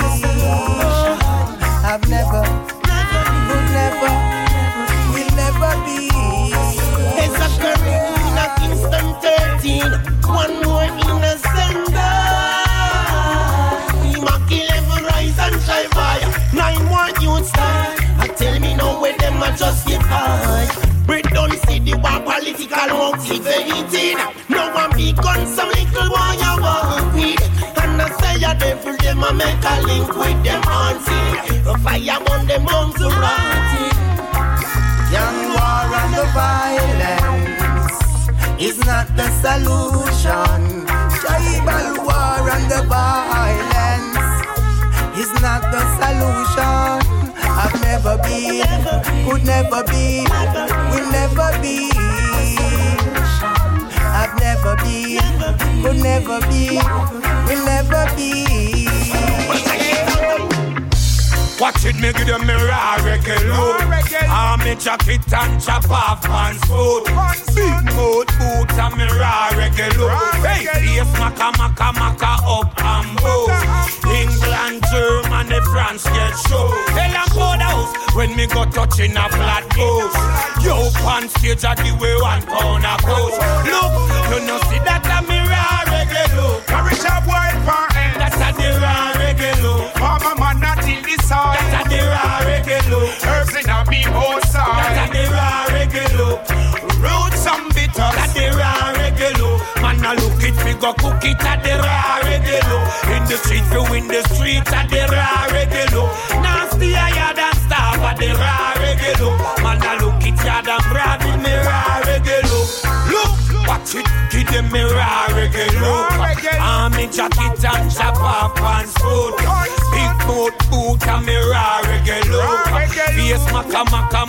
I've never, could never, will never be. It's a career in a Kingston 13. One more innocent die. We might kill every rise and try fire. 9 more youths die. And tell me now where them are justified. We don't see the war political motivated. No one be gun some little boy you walk with. And I say a devil them a make a link with them auntie. The fire on them on to rotting. Young war and the violence is not the solution. Tribal war and the violence is not the solution. I've never been, could never be, will never be. I've never been, could never be, will never be. Watch it, me give them me raw reggae load. Army jacket and chop off pants food. Big mode boots and me raw reggae load. Hey, yes, maka maka maka up and bow. England, Germany, France get show. Hell and powder house when me go touching a flat post. Yo, pan stage I give away 1 pound a coast. Look, you know see that a me raw reggae load. Carriage a boy for end. That's a the raw reggae load. Mama man not till the side. That's a the raw reggae load. Herbs in a me outside. That's a the raw reggae load. Roots and bitters. That's the raw reggae load. Man a look it, we go cook it at the raw reggae load. In the street, you in the street at the raw reggae load. Nasty higher than staff at the raw reggae load. Man a look it, yard and brave in me jacket and chop off pants foot. Big boot and me raw reggae look. Face maka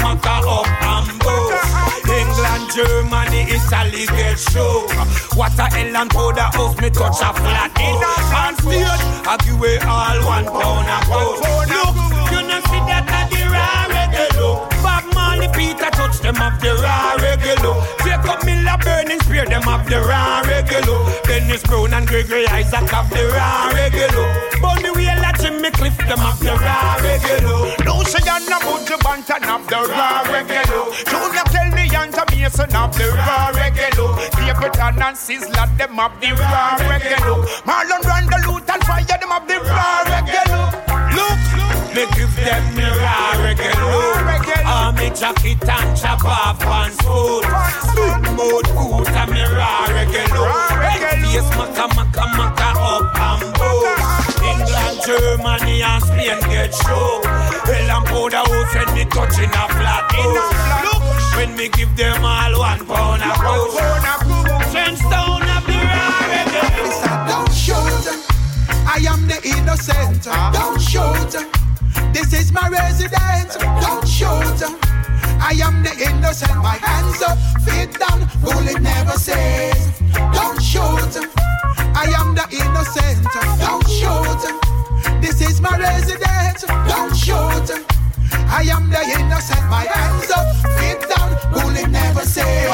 up and boot. England, Germany, Italy get show. Water, hell and powder house, me touch a flat in and stage. I give away all £1 a pound. Look, you know see that at the raw reggae look. Bob Marley, Peter touch them up the raw reggae look. Jacob Miller, Burning Spear them up the raw reggae look. Dennis Brown and Gregory Isaac up the raw reggae look. Bunny Wheel and Jimmy Cliff them up the raw reggae look. Lucy and Abuja Bantan up the raw reggae look. Junior Kelly and Mason up the raw reggae look. Capleton and Sizzler them up the raw reggae look. Marlon Brando, Luther and Fire them up the raw reggae look. Look, me give them me raw reggae look. Me jacket and chop off pants foot. Big boot and me raw reggae look. Face maka up and boot. England, Germany and Spain get show. Hell and powder house when me touching a flat house. Look, when me give them all £1 a pound. Trench down up the raw reggae look. Don't shoot, I am the innocent. Don't shoot, this is my residence. Don't shoot, I am the innocent. My hands up, feet down, bullet never says. Don't shoot, I am the innocent. Don't shoot, this is my residence. Don't shoot, I am the innocent. My hands up, feet down, bullet never says.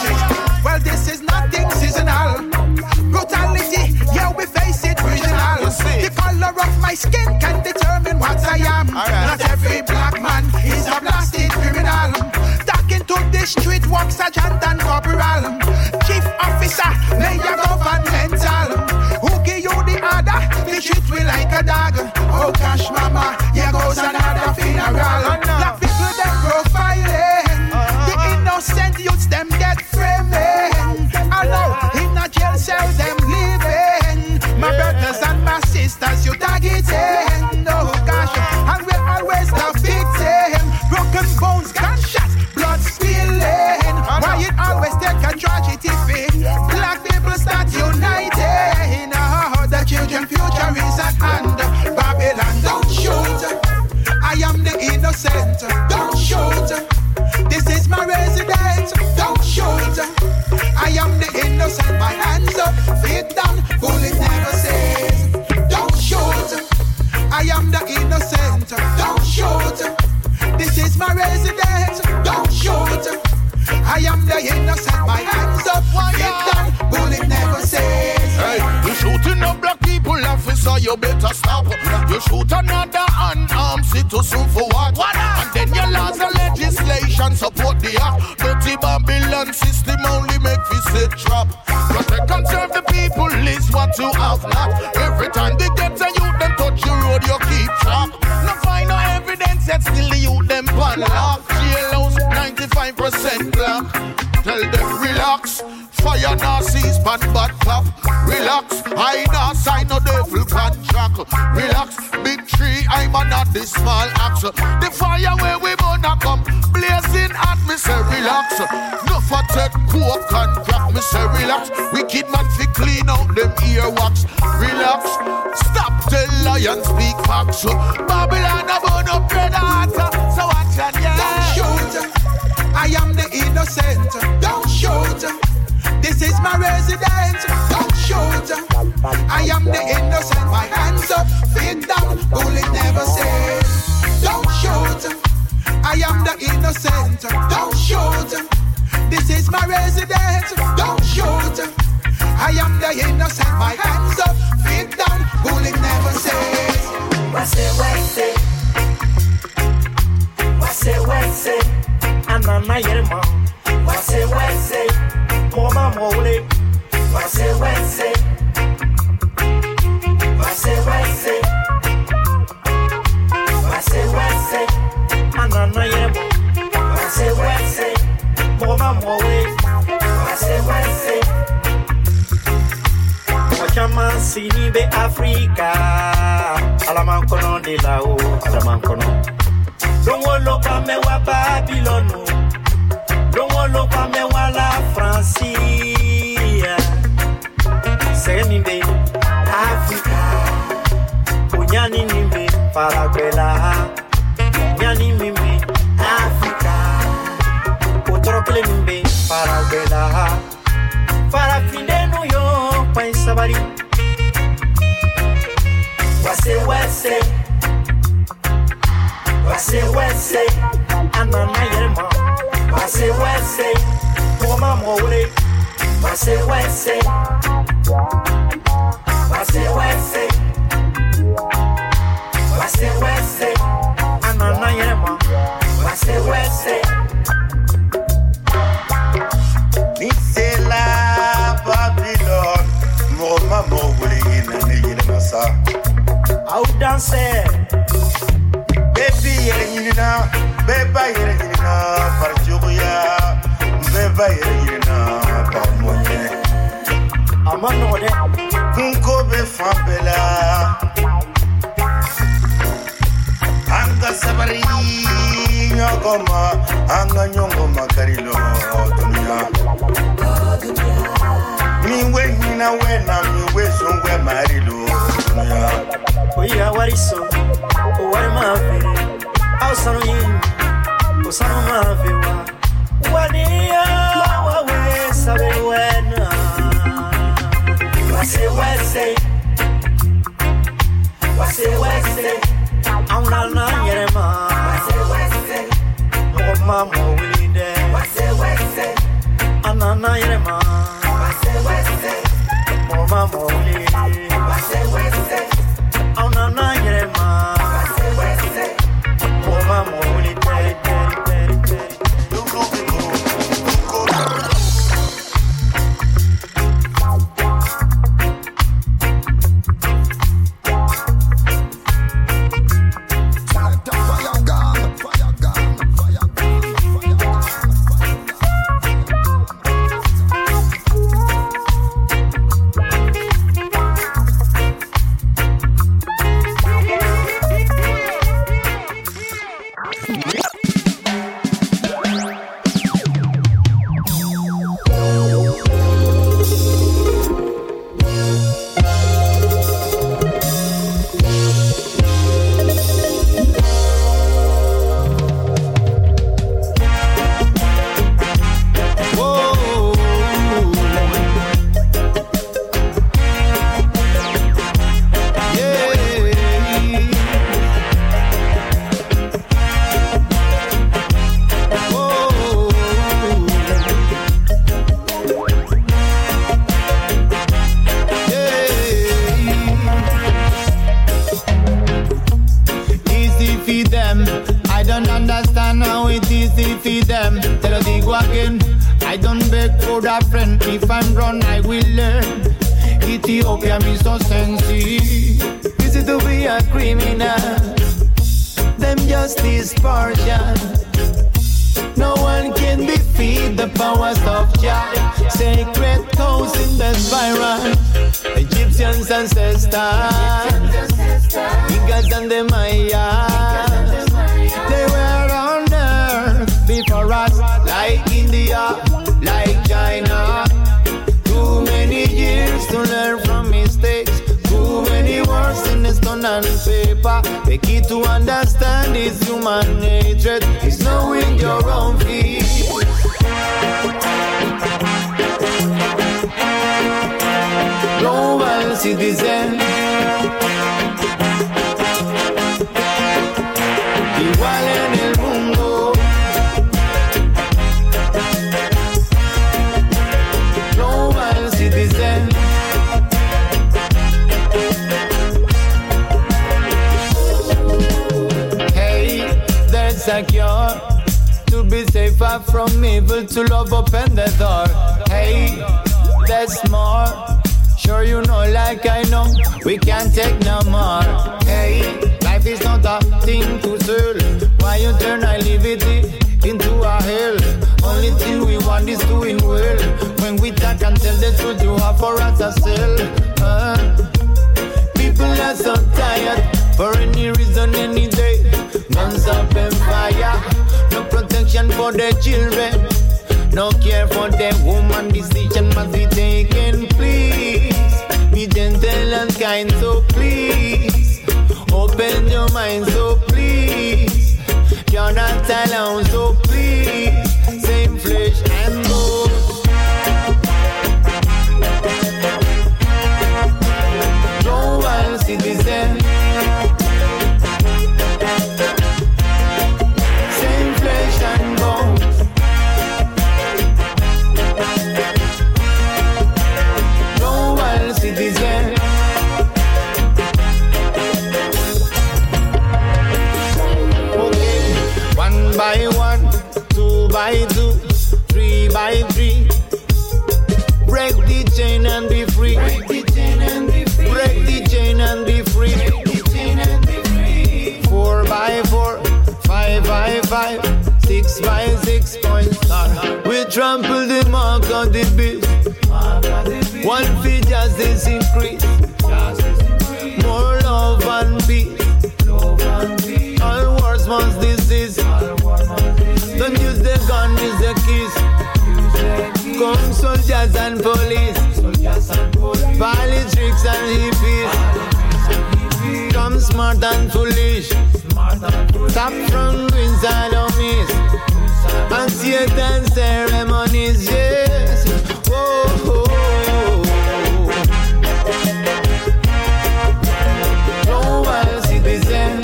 Well, this is nothing seasonal. Brutality, yeah, we face it regional. The color of my skin can determine what I am. Not every black man is a blasted criminal. Talking to the street, walk sergeant and corporal. Chief officer, mayor governmental. Who give you the order? They treat me like a dog. Oh gosh, mama, here goes another funeral. Black people, them profiling. The innocent youths, them get framing. I know, in a jail cell, them living. My brothers and my sisters, you targeting. Oh gosh, and we're always the victim. Broken bones, gunshots, blood spilling. Why it always take a tragedy fate? Black people start uniting. Oh, the children future is at hand. Babylon, don't shoot, I am the innocent. Don't shoot, this is my residence. Don't shoot, I am the innocent. My hands up, feet down, bullet never says. Don't shoot, I am the innocent. Don't shoot, this is my residence. Don't shoot, I am the innocent. My hands up, feet down, bullet never says. Hey, you shooting up black people, officer, you better stop. You shoot another unarmed citizen for what? And then your laws and legislation support the act. Dirty Babylon system only make we sit trap. Protect and serve the people is what you have not. Every time they get a youth, them touch your road, you keep track. No find no evidence yet, still the youth them pan lock. Jailhouse 95% black. Tell them relax. Fire Nazis, bad clap. Relax, I not sign no devil contract. Relax, big tree, I'm not this small axe. The fire where we gonna come, blazing at me say relax. No for take coke and crack, me say relax. Wicked man fi clean out them earwax. Relax, stop tell lion speak facts. Babylon a burn up predator, so watch and yeah. Don't shoot, I am the innocent. Don't shoot, this is my residence. Don't shoot, I am the innocent. My hands up, feet down, bullet never says. Don't shoot, I am the innocent. Don't shoot, this is my residence. Don't shoot, I am the innocent. My hands up, feet down, bullet never says. What's I'm on my elmo. What's Mama Mole. What's I'm on my elmo. What's Mama Mole. Wachaman sinibe Africa. Alaman kono de la o. Alaman kono. Don't walk pa me wa Babylon. Don't walk pa me wa la Francie. Send me Paraguela, Nyani Mimi, Africa, Utrokle Mimbe, Paraguela, Farafine New York, Pain Sabari, Wase, Anana Yerma, Wase, Moma Mole, Wase, Anana Yerma, Wase. Nisela Babylon, Moma Mole, Nasa. Out dancer. Baby, Yerina, Parjuria, Beba Yerina, Pamoye. Amanode, Funko Befabella, Anga Sabari, Yagoma, Anga Nyongoma Carilo, Dunia. Me when I'm where Marilo, Dunia. We are what is so, what am I? Ausano yin, Osano Maviwa, Wania, Wawe, Sabewena, Wase, Aunana Yerema, Mama Wilide, Anana Yerema, Mama Wilide, Aunana Yerema. From evil to love, open the door. Hey, there's more. Sure you know like I know, we can't take no more. Hey, life is not a thing to sell. Why you turn naivety into a hell? Only thing we want is doing well. When we talk and tell the truth, you have for us a sell. People are so tired, for any reason, any day. Guns up and fire. No protection for the children, no care for the woman. Decision must be taken. Please be gentle and kind, so please Open your mind, so please. You're not alone, so please. Same flesh and bones. Global citizen. Same flesh and bones. Global citizen. By one, 2 by 2, 3 by 3. Break the chain and be free. Break the chain and be free. Break the chain and be free. Break the chain and be free. 4 by 4, 5 by 5, 6 by 6 point star. We trample the mark of the beast. One feet justice increase. More love and peace. All wars must disease. Don't use the gun, use the keys. Come soldiers and police. Politics and hippies. Come smart and foolish. Stop from doing sodomies and Satan ceremonies, yes. Whoa. Global citizen.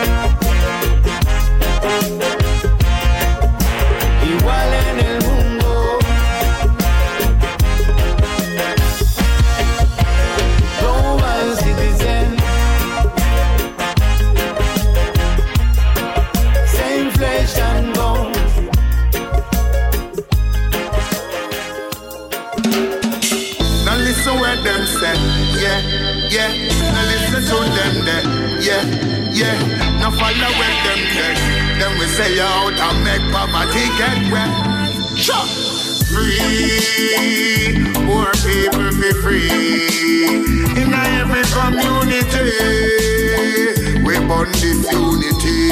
Igual en el mundo. Global citizen. Same flesh and bone. Now listen what them say, yeah, yeah. Now listen to them there, yeah, yeah. Now follow what them say. Then we say out and make poverty get wet. Sure. Free, poor people be free. In every community, we burn this unity,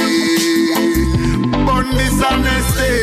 burn this honesty.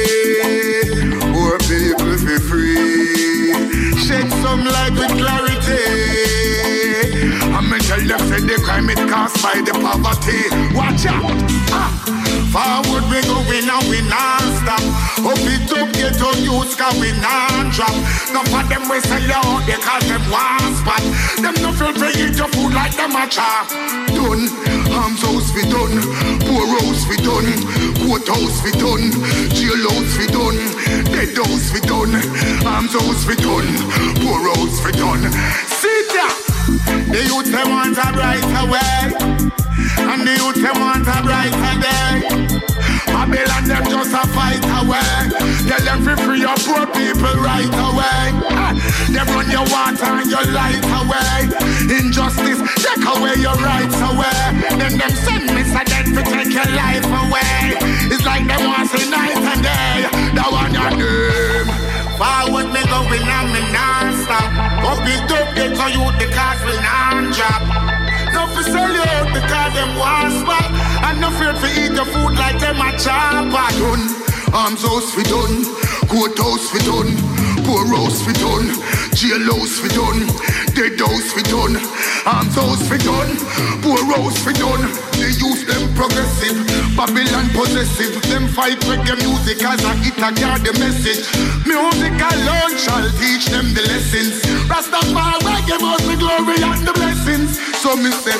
Poor people be free. Shed some light with clarity. I'm tell you, say the crime it caused by the poverty. Watch out. Forward we go, we now we non-stop. Up it up, get on youth, cause we non-drop. None of them we sell you out, they call them one spot. Them no feel to eat your food like them a chop. Done, arms house we done, poor house we done, courthouse we done, jail house we done, dead house we done, arms house we done, poor house we done. See that? The youth them want a brighter way, and the youth them want a brighter day. Babylon them just a fight away. Tell them free your poor people right away. They run your water and your light away. Injustice, take away your rights away. Then them send me so then to take your life away. It's like them want to night and day. That one your name. Forward me going and me non-stop. Up it up, get to you because we non-drop. No for sell you out because them want spot. And no fear for eat your food like them a chopper. Done, arms house we done, courthouse we done, poor house we done, jail house we done, dead house we done, arms house we done, poor house we done. They use them progressive, Babylon possessive. Them fight reggae music as a hit a carry the message. Music alone shall teach them the lessons. Rastafari reggae must be glory and the blessings. So me say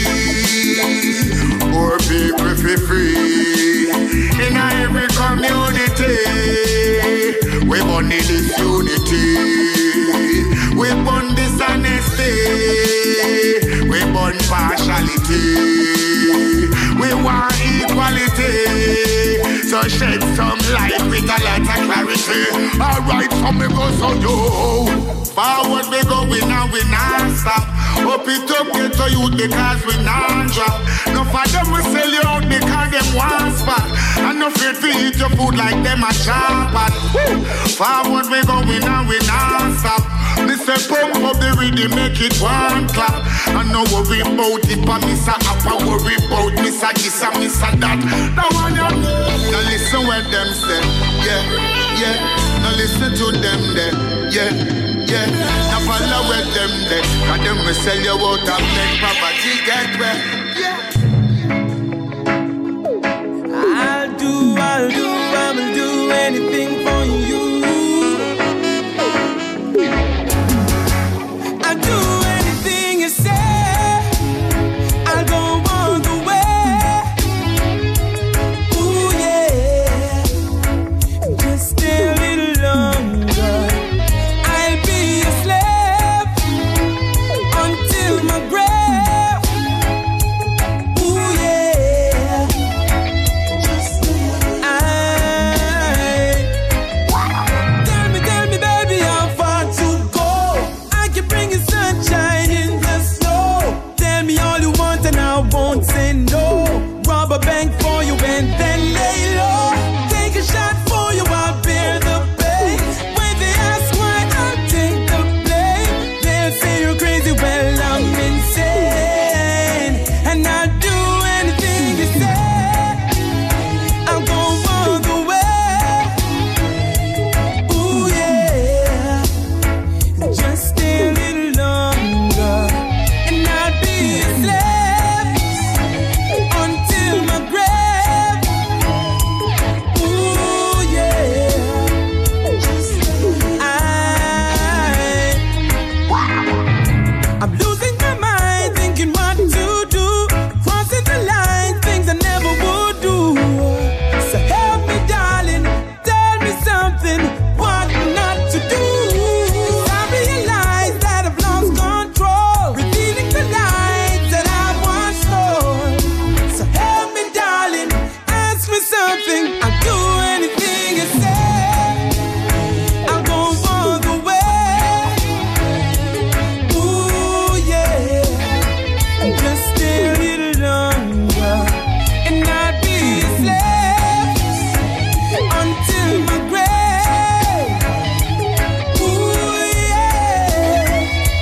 free, poor people feel free. In every community, we burn this unity, we burn dishonesty, we burn partiality. We want equality, so shed some light with a lot of clarity. Alright, so me go so yo. Forward we go, we now we non-stop. Up it up, get to you because we non-drop. No for them we sell you out because them one spot. And no fear to eat your food like them a chopper. Forward we go, we now we non-stop. Me say pump up the rhythm, make it one clap. And no worry about it, but me say up and worry about me say this and me say that. Now one you now listen what them say, yeah, yeah. Now listen to them there, yeah, yeah. Now follow what them there, cause them will sell you out and make poverty get wet, yeah. I'll do anything for you. I'll do anything you say. I'll go all the way. Ooh yeah, just stay a little longer. I'll be a slave until my grave. Ooh yeah, tell me, baby, how far to go? I can bring you sunshine in the snow. Tell me all you want and I won't say no. Rob a bank for you and then lay low. Take a shot for you, I'll bear the pain. When they ask why, I'll take the blame. They'll say you're crazy, well I'm insane. And I'll do anything you say. I'll go all the way. Ooh yeah, just stay a little longer, and I'll be a slave until my grave. Ooh yeah, I'm losing my mind, thinking what to do, crossing the line, things I never would do. So help me, darling, tell me something, what not to do. I realize that I've lost control, revealing the lies that I once told. So help me, darling, ask me something. I'll do anything you say. I'll go all the way. Ooh yeah, just stay a little longer, and I'll be a slave until my grave. Ooh yeah,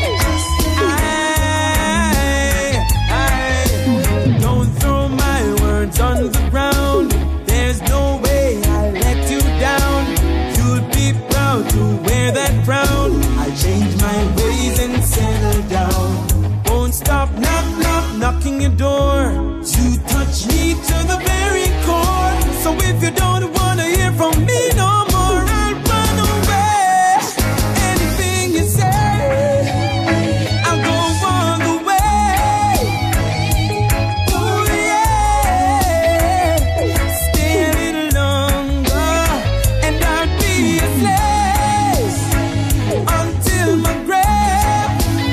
don't throw my words on the ground. There's no way I'll let you down. You'll be proud to wear that crown. I'll change my ways and settle down. Won't stop knocking your door. You touch me to the very core. So if you don't wanna hear from me no more, I'll run away. Anything you say, I'll go all the way. Ooh yeah, stay a little longer, and I'll be a slave until my grave.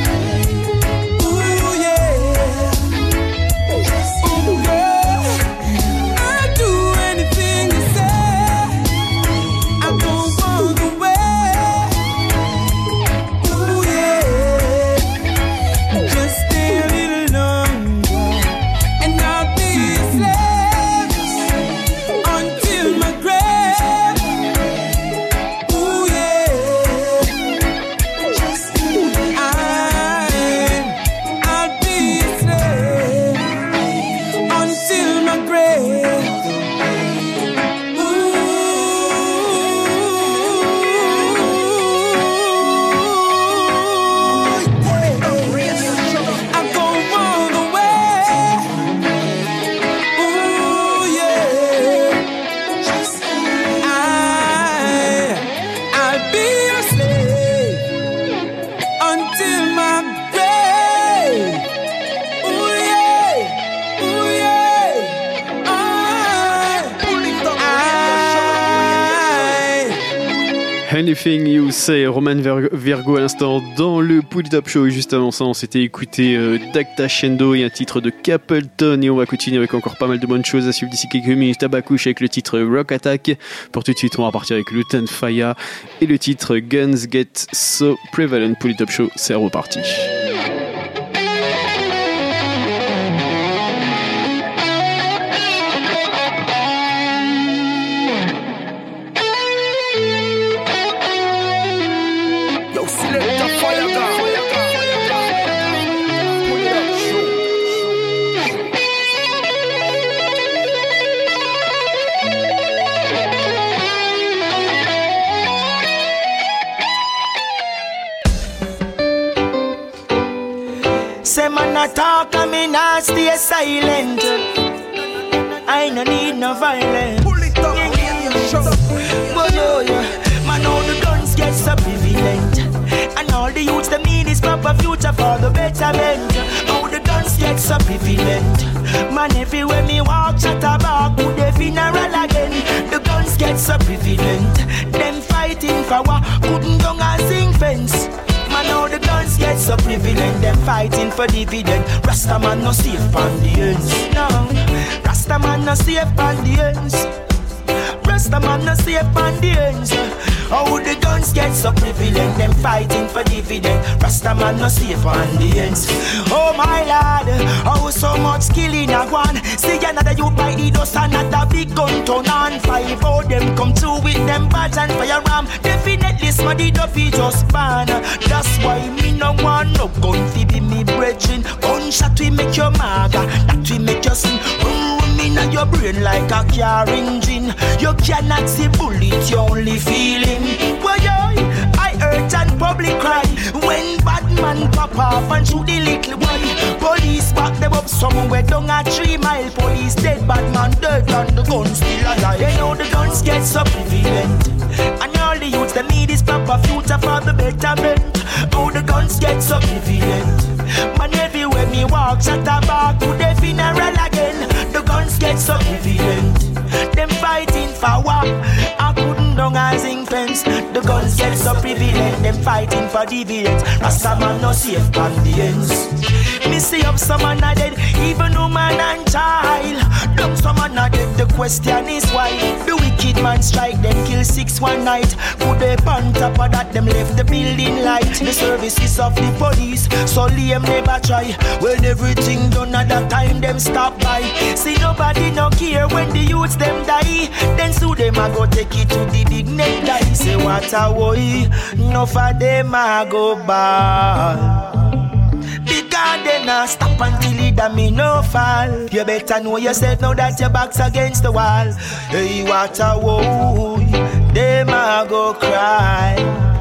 Ooh yeah, ooh yeah, I'll do anything you say. I'll go all the way. Ooh yeah, just stay a little longer, and I'll be a slave until my grave. Ooh yeah, I'll be a slave until my grave. I'll go all the way. Ooh yeah, I'll be a slave until my grave. Ooh yeah, ooh yeah, Anything You Say, Roman Virgo à l'instant dans le Pull It Up Show. Et juste avant ça, on s'était écouté Dacta Shendo et un titre de Capleton. Et on va continuer avec encore pas mal de bonnes choses à suivre d'ici quelques minutes. Tabakouche avec le titre Rock Attack. Pour tout de suite, on va repartir avec Lutan Fyah et le titre Guns Get So Prevalent. Pull It Up Show, c'est reparti. Yo, select the fire gun. Pull it up, show. Say man a talk and me nah stay silent. I no need no violence. Pull it up. guns get so prevalent. And all the youths, them need is proper future for the betterment. How the guns get so prevalent. Man, everywhere me walk, chat about put the funeral again. The guns get so prevalent. Them fighting for what couldn't go and sing fence. Man, how the guns get so prevalent. Them fighting for dividend. Rasta man no safe on the ends. No, Rasta man no safe on the ends. Rasta man no safe on the ends. How the guns get so prevalent. Them fighting for dividend. Rasta man no safe on the ends. Oh my lord, how so much killing a one. See another youth by the dust, another big gun turn on. 5 of them come through with them badge and firearm. Definitely smarty duffy just ban. That's why me no want no gun fi be me brethren. Gunshot we make your maga, that we make your sin. In your brain like a car engine. You cannot see bullet, you only feel him. Well, I hurt and public cry when bad man pop off and shoot the little boy. Police back them up somewhere down a 3 mile. Police dead, bad man dead and the gun still alive. They know the guns get so prevalent. And all the youths, they need is proper future for the betterment. How the guns get so prevalent. Man, everywhere me walk, shut a back to the funeral again. The guns get so prevalent. Them fighting for what? I couldn't down a zinc fence. The guns get so prevalent. Them fighting for dividends. Rasta man no safe on the ends. Me see up some man a dead, even woman and child. Dumb some man a dead, the question is why. The wicked man strike, them kill 6 one night. Put the on top of that, them left the building light. The services of the police, so lame never try. When everything done at that time, them stop by. See nobody no care when the youths them die. Then sue them a go take it to the big neck die. Say what a way, no for them a go bad. Because they not stop until it a me no fall. You better know yourself now that your back's against the wall. Hey, what a woe, them a go cry.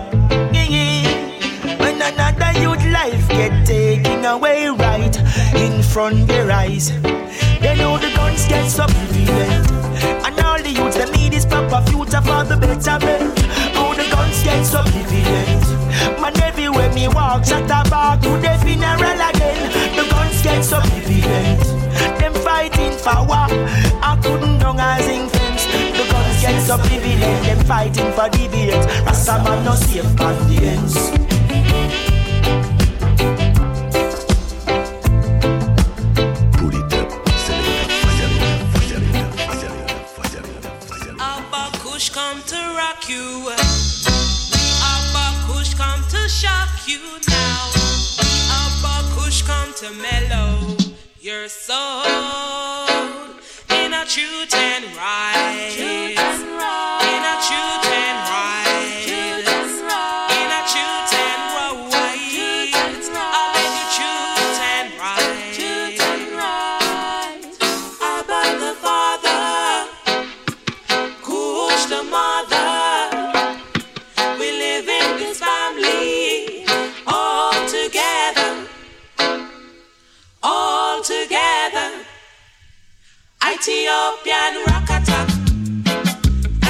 When another youth life get taken away right in front their eyes. They know the guns get so prevalent. And all the youths they need is proper future for the betterment. How the guns get so prevalent. Man, everywhere me walk, shut a back to the funeral again. The guns get so prevalent. Them fighting for what? I couldn't down a zinc fence. The guns get so prevalent. Them fighting for dividends. Rasta man no safe on the ends. Come to rock you. We are Bakush come to shock you now. We are Bakush come to mellow your soul in a truth and right. In a truth and right. In a truth and right. I'll make you truth and right. About the Father. The mother, we live in this family all together, all together. Ethiopian rock attack,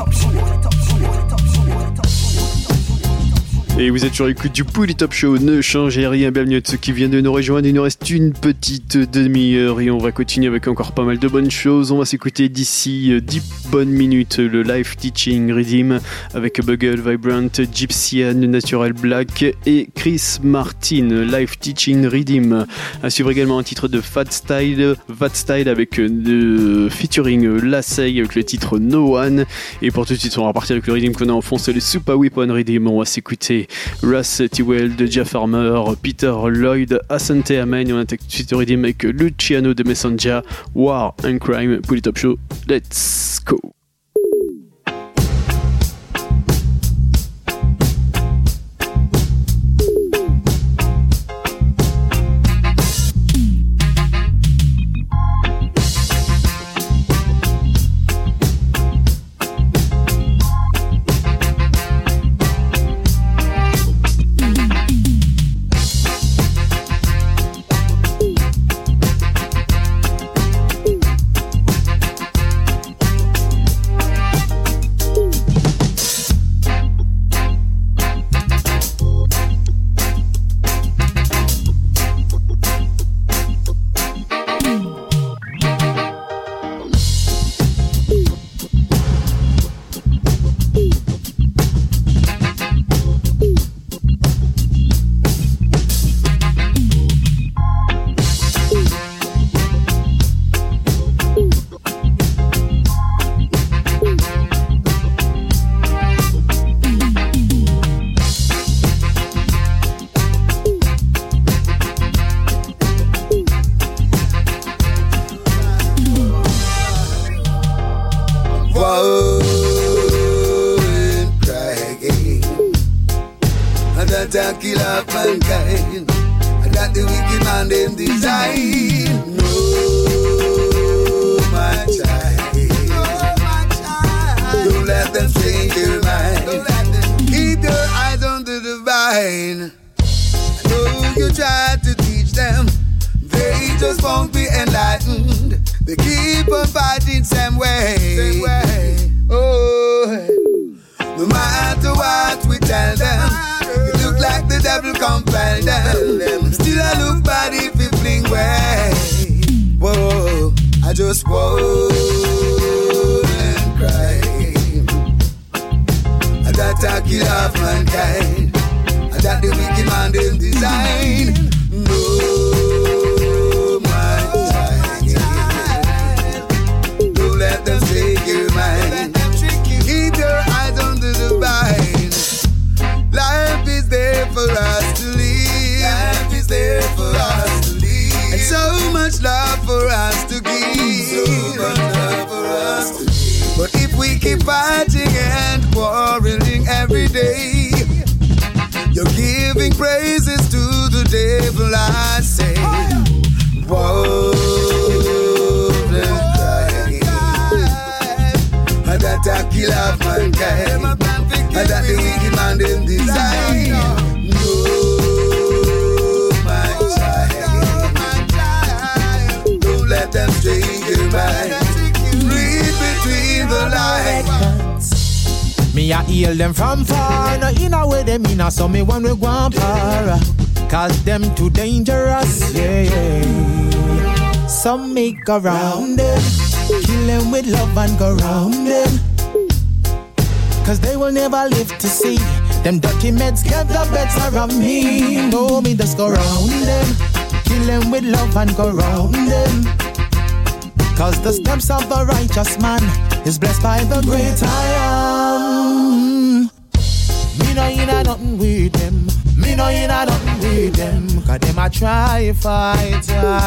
Et vous êtes sur l'écoute du Pouli Top Show, ne changez rien, bienvenue à ceux qui viennent de nous rejoindre. Il nous reste une petite demi-heure et on va continuer avec encore pas mal de bonnes choses. On va s'écouter d'ici 10 bonnes minutes le live teaching Rhythm avec Bugle, Vibrant, Gypsyan, Natural Black et Chris Martin, live teaching Rhythm. À suivre également un titre de Fat Style avec featuring Lasey avec le titre No One. Et pour tout de suite on va repartir avec le Rhythm qu'on a en fond, c'est le Super Weapon Rhythm. On va s'écouter Russ T-Well de Jeff Farmer, Peter Lloyd, Asante Amen. On attaque tout de suite au Rhythm avec Luciano de Messenger, War and Crime, Pouli Top Show. Let's go! Me a heal them from far, no in a way them in a so me one we go and para, cause them too dangerous, yeah. Some make around them, kill them with love and go round them, cause they will never live to see them dirty meds get the better of me. No, me just go round them, kill them with love and go round them, cause the steps of the righteous man is blessed by the great I am. Me no inna nothing with them, me no inna nothing with them, cause them a try fight,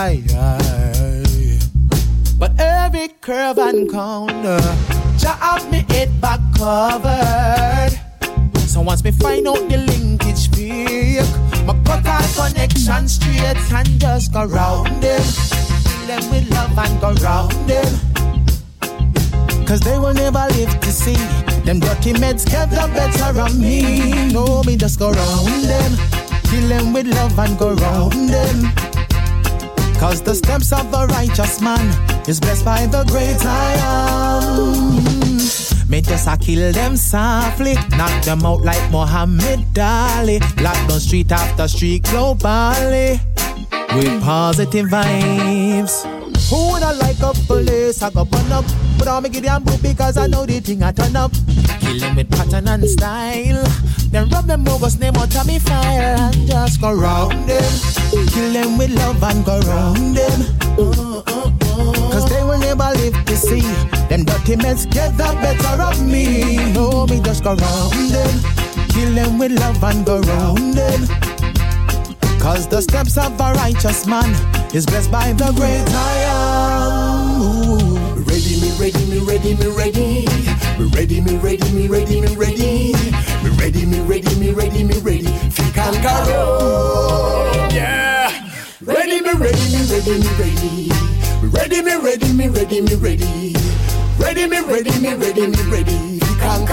but every curve and corner, Jah have me head back covered. So once me find out the linkage fake, my cut our connection straight and just go round them, kill them with love and go round them, cause they will never live to see them dirty meds get the better of me. No, me just go round them, kill them with love and go round them, cause the steps of the righteous man is blessed by the great I am. Me just a kill them softly. Knock them out like Muhammad Ali. Lock down street after street globally. With positive vibes. Who would I like up police? I go burn up. But I'll make it damn boot because I know the thing I turn up. Kill them with pattern and style. Then rub them bogus name out of me fire and just go round them. Kill them with love and go round them. Cause they will never live to see them dirty men get the better of me. No, me just go round them. Kill them with love and go round them. Cause the steps of a righteous man is blessed by the great I am. Ooh. Ready, me ready, me ready, me ready. Me ready, me ready, me ready, me ready. Me ready, me ready, me ready, me ready. Fake and carol, yeah. Ready, me ready, me ready, me ready. Me ready, me ready, me ready, me ready. Ready, me ready, me ready, me ready. Fake and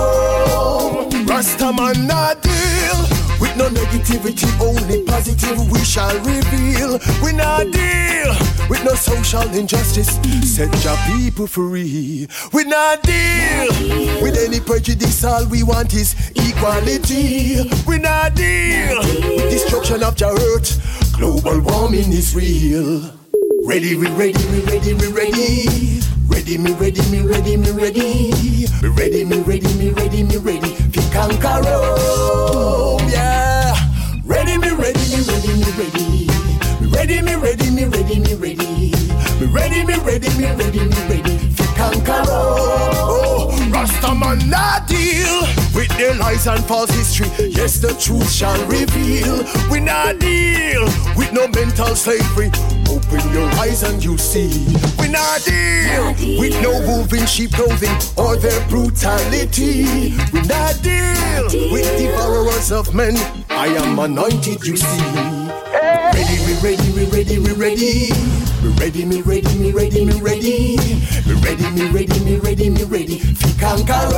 carol. Rastaman not deal with no negativity, only positive we shall reveal. We not deal with no social injustice, set your people free. We not deal with any prejudice, all we want is equality. We not deal with destruction of your earth, global warming is real. Ready, we ready, we ready, we ready. Ready, me ready, me ready, me ready. Me ready, me ready, me ready, me ready. Fi conquer Rome, yeah. Ready, me ready, me ready, me ready. Me ready, me ready, me ready, me ready. Me ready, me ready, me ready, me ready. Fi conquer Rome. Oh, Rastaman not deal with their lies and false history. Yes, the truth shall reveal. We not deal with no mental slavery. Open your eyes and you see. We not deal with no moving sheep clothing or their brutality. We not deal with devourers of men. I am anointed, you see. Ready, we ready, we ready, we ready. We ready, me ready, me ready, me ready. Me ready, me ready, me ready, me ready. Fi conquer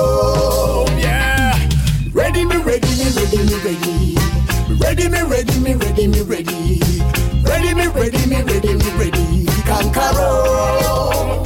Rome, yeah. Ready, me ready, me ready, me ready. Me ready, me ready, me ready, me ready. Ready, me ready, me ready, me ready. Fi conquer Rome.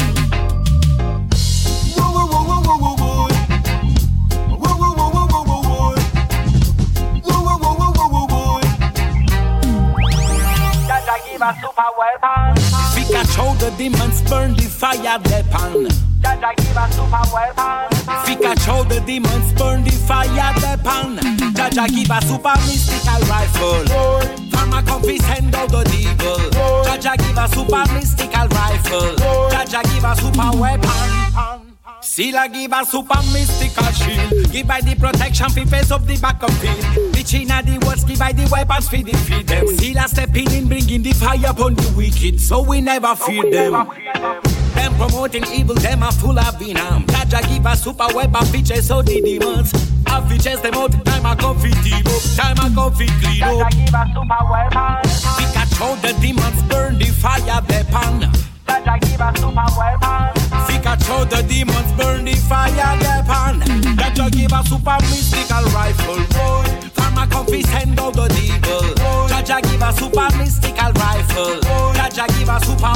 Super weapon. Fika show the demons burn the fire weapon. Jaja give a super weapon. Fika show the demons burn the fire weapon. Jaja give a super mystical rifle. Farmer comfy send out the devil. Jaja give a super mystical rifle. Jaja give a super weapon. Sila give a super mystical shield. Give by the protection fi face up the back of field. The China the words give by the weapons fi defeat them. Sila stepping in bringing the fire upon the wicked, so we never fear them. Them promoting evil, them are full of venom. Jaja give a super weapon fi chase out the demons. I fi chase them out, time I come fi team up, time I come fi clean up. Jaja give a super weapon. Pikachu the demons burn the fire weapon. Jaja give a super weapon. Pikachu the demons burn the fire weapon. Jaja give a super mystical rifle. Farmer comfy send out the devil. Jaja give a super mystical rifle. Jaja give a super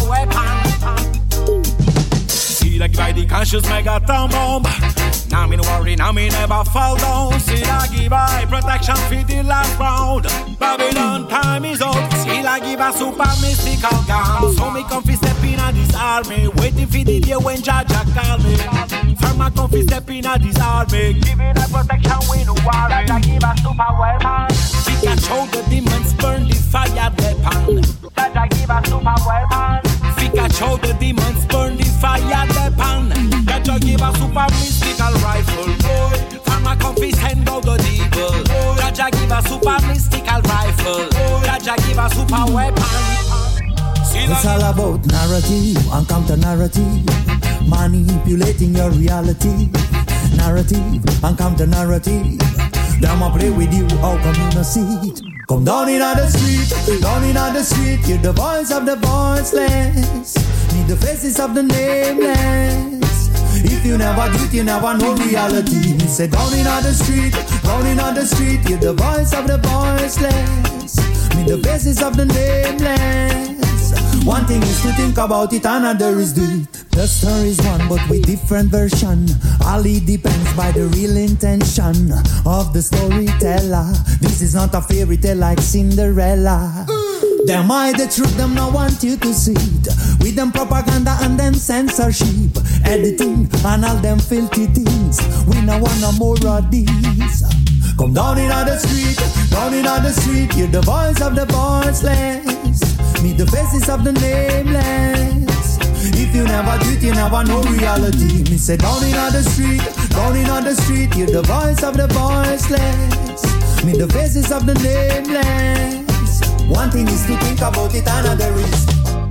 weapon. See like by the conscious megaton bomb. Now me no worry, now me never fall down. See I give I protection for the last round. Babylon time is up. See I give a super mystical gun. So me comfy step in at this army. Waiting for the day when Jaja call me. Farmer comfy step in at this army. Giving a protection we no worry. Jaja give a super weapon. Pikachu the demons burn the fire weapon. Jaja give a super weapon. Pikachu the demons burn the fire weapon. Jaja give a super mystical rifle. Farmer comfy send out the devil. Jaja give a super mystical rifle. Jaja give a super weapon. It's all about narrative and counter narrative, manipulating your reality. Narrative and counter narrative. Them a play with you, how come you not see it? Come down in the street, down in the street. Hear the voice of the voiceless, need the faces of the nameless. If you never do it, you never know reality. Me say down in the street, down in the street. Hear the voice of the voiceless, need the faces of the nameless. One thing is to think about it, another is do it. The story's one, but with different version. All it depends by the real intention of the storyteller. This is not a fairy tale like Cinderella. Them hide the truth, them not want you to see it. With them propaganda and them censorship, editing and all them filthy things. We no want no more of these. Come down in the street, down in the street. Hear the voice of the voiceless, meet the faces of the nameless. If you never do it, you never know reality. Me say down in the street, down in the street. Hear the voice of the voiceless, meet the faces of the nameless. One thing is to think about it, another is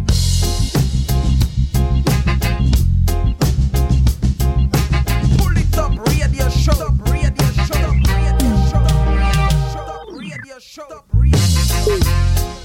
Pull it up, radio show, radio show, radio show, radio show, radio show.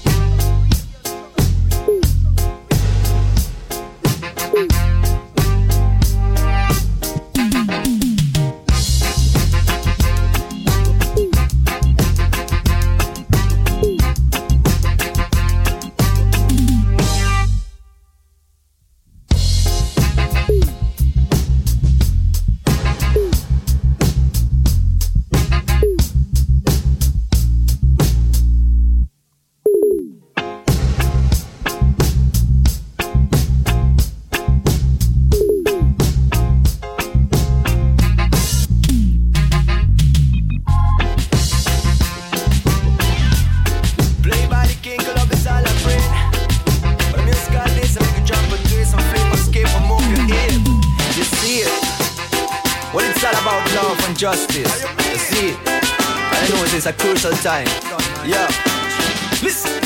Justice, you see, I know this is a crucial time. Yeah, listen.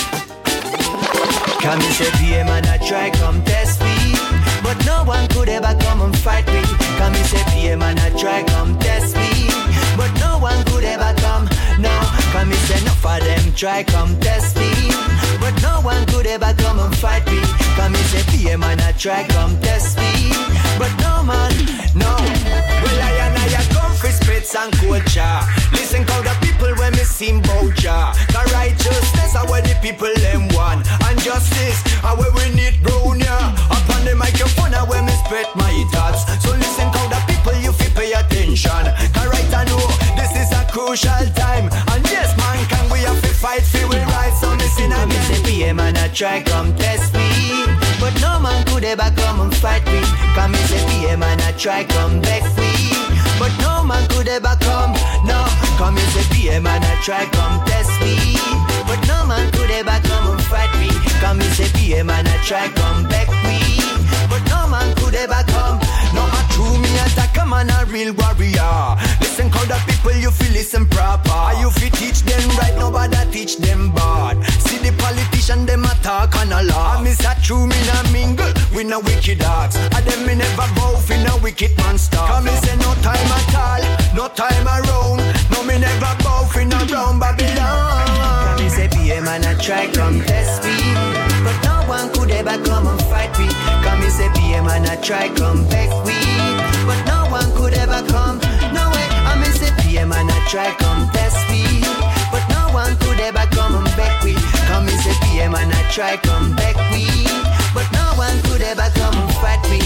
Can me say PM and I try come test me, but no one could ever come and fight me. Can me say PM and I try come test me, but no one could ever come. No, can me say enough of them try come test me, but no one could ever come and fight me. Can me say PM and I try come test me, but no man, no. Well I come for spits and culture. Listen how the people when me sing bout ya. The righteousness are where the people them want, and justice are where we need brown ya. Upon the microphone are where me spread my thoughts. So listen how the people you feel pay attention. Cause right I know this is a crucial time, and yes man can we have to fight for we rights. So listen again. Me say PM and I try come test me, but no man could ever come and fight me. Cause me say PM and I try come back me, but no man could ever come. No, come and say PM and I try come test me, but no man could ever come and fight me. Come and say PM and I try come back me, but no man could ever come. No, I true me attack a man a real warrior. Listen how the people you feel listen proper. You feel teach them right, nobody teach them bad. See the politician them attack and a laugh. I miss a true me na mingle with no wicked dogs. And them me never bow for no wicked monster. Come and say no time at all, no time around. No me never bow for no round Babylon. Come and say PM and I try come test me, but no one could ever come and fight me. Come and say PM and I try come back we, but no one could ever come. No way, I mean say PM and I try come test me, but no one could ever come and back we. Come and say PM and I try come back we, but no one could ever come and fight me.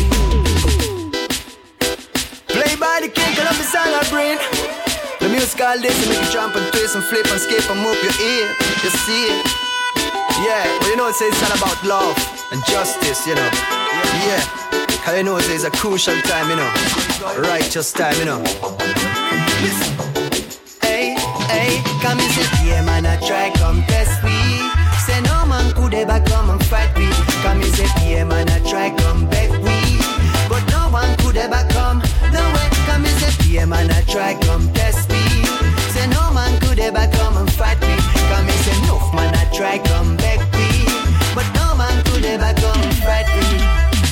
Play by the king, Columbus and our brain. The music all this make you jump and twist and flip and skip and move your ear. You see it? Yeah, well you know it's all about love and justice, you know. Yeah, cause you know it's a crucial time, you know. Righteous time, you know. Listen. Hey, hey, come and say PM and I try come test me. Say no man could ever come and fight me. Come and say PM and I try come back we, but no one could ever come. No way, come and say PM and I try come test me. Say no man could ever come and fight me. Come and say no man I try come back we, but no man could ever come and fight me.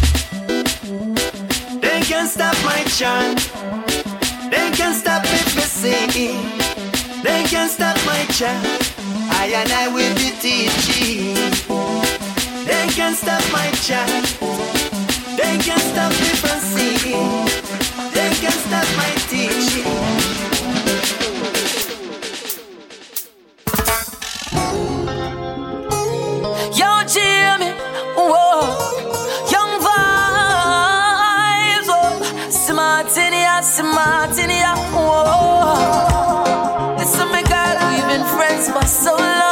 They can't stop my chant. They can't stop me for singing. They can't stop my chant. I and I will be teaching. They can't stop my chant. They can't stop me from singing. They can't stop my teaching. Yo, Jimmy, whoa, Young Aston Martin, yeah. Whoa. Listen, my girl, we've been friends for so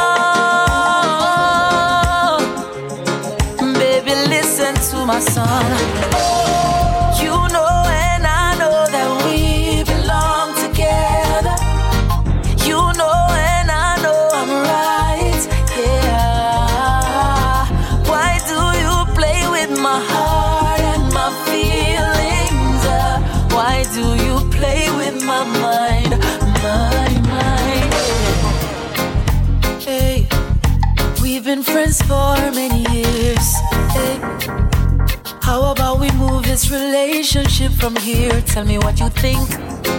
long. Baby, listen to my song. You know and I know that we belong together. You know and I know I'm right, yeah. Why do you play with my heart and my feelings? Why do you play with my mind, my mind? Hey, we've been friends for many years. Hey, how about we move this relationship from here? Tell me what you think.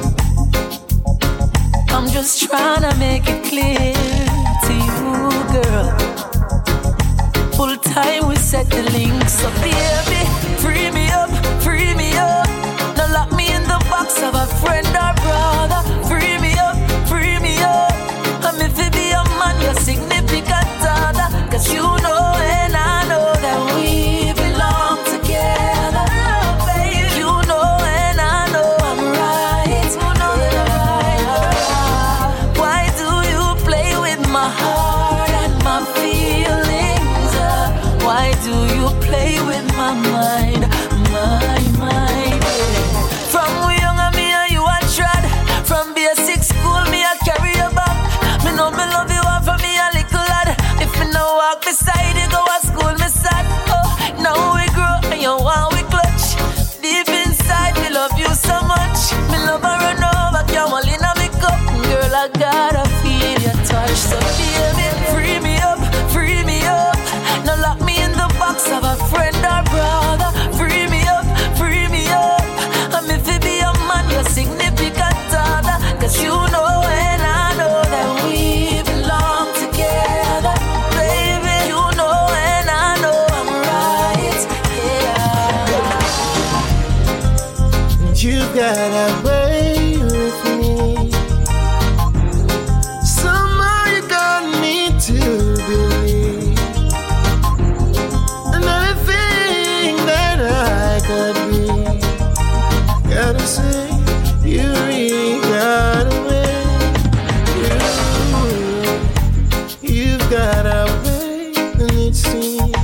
I'm just trying to make it clear to you, girl. Full time we set the link. So baby, free me up, free me up. Now lock me in the box of a friend or brother. Free me up, free me up. I'm if it be a man, your significant other. Cause you know and I know that we belong together. Baby, you know and I know I'm right. You know that I'm right. Why do you play with my heart and my feelings? Why do you play with my mind, my mind? From we young and me and you a trad. From basic school me a carry you back. Me know me love you and for me a little lad. If me no walk beside you go to school me sad. Oh, now we grow and you want we clutch. Deep inside me love you so much. Me love and run over, camel in a me cup. Girl, I gotta feel your touch. So baby, free me up, free me up. Now lock me in the box of a friend or brother. Free me up, free me up. I'm if it be a man, your significant other. Cause you know and I know that we belong together. Baby, you know and I know I'm right, yeah. You got away with me. Somehow you got me to believe another thing that I could be. Gotta say, you really got away. You've got away, and it seems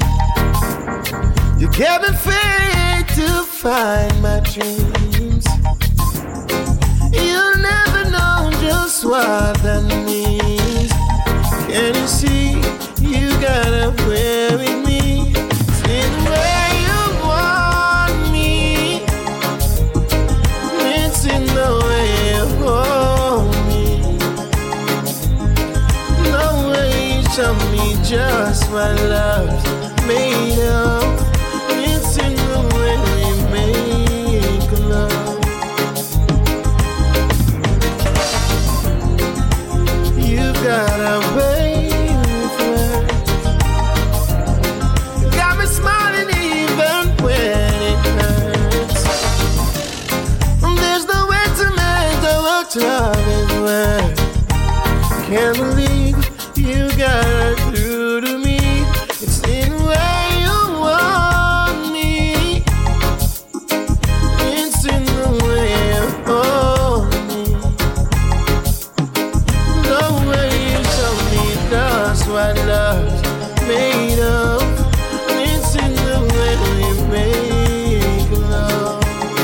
you gave me faith to find my dreams. You'll never know just what that means. Can you see, you got away with me. See the way you want me. It's in the way you hold me. No way you show me just what love's made of. It's in the way we make love. You got away with words. You got me smiling even when it hurts. There's no way to measure what love is worth. Can't believe you got through to me. It's in the way you want me. It's in the way you hold me. The way you show me that's what love's made of. It's in the way we make love.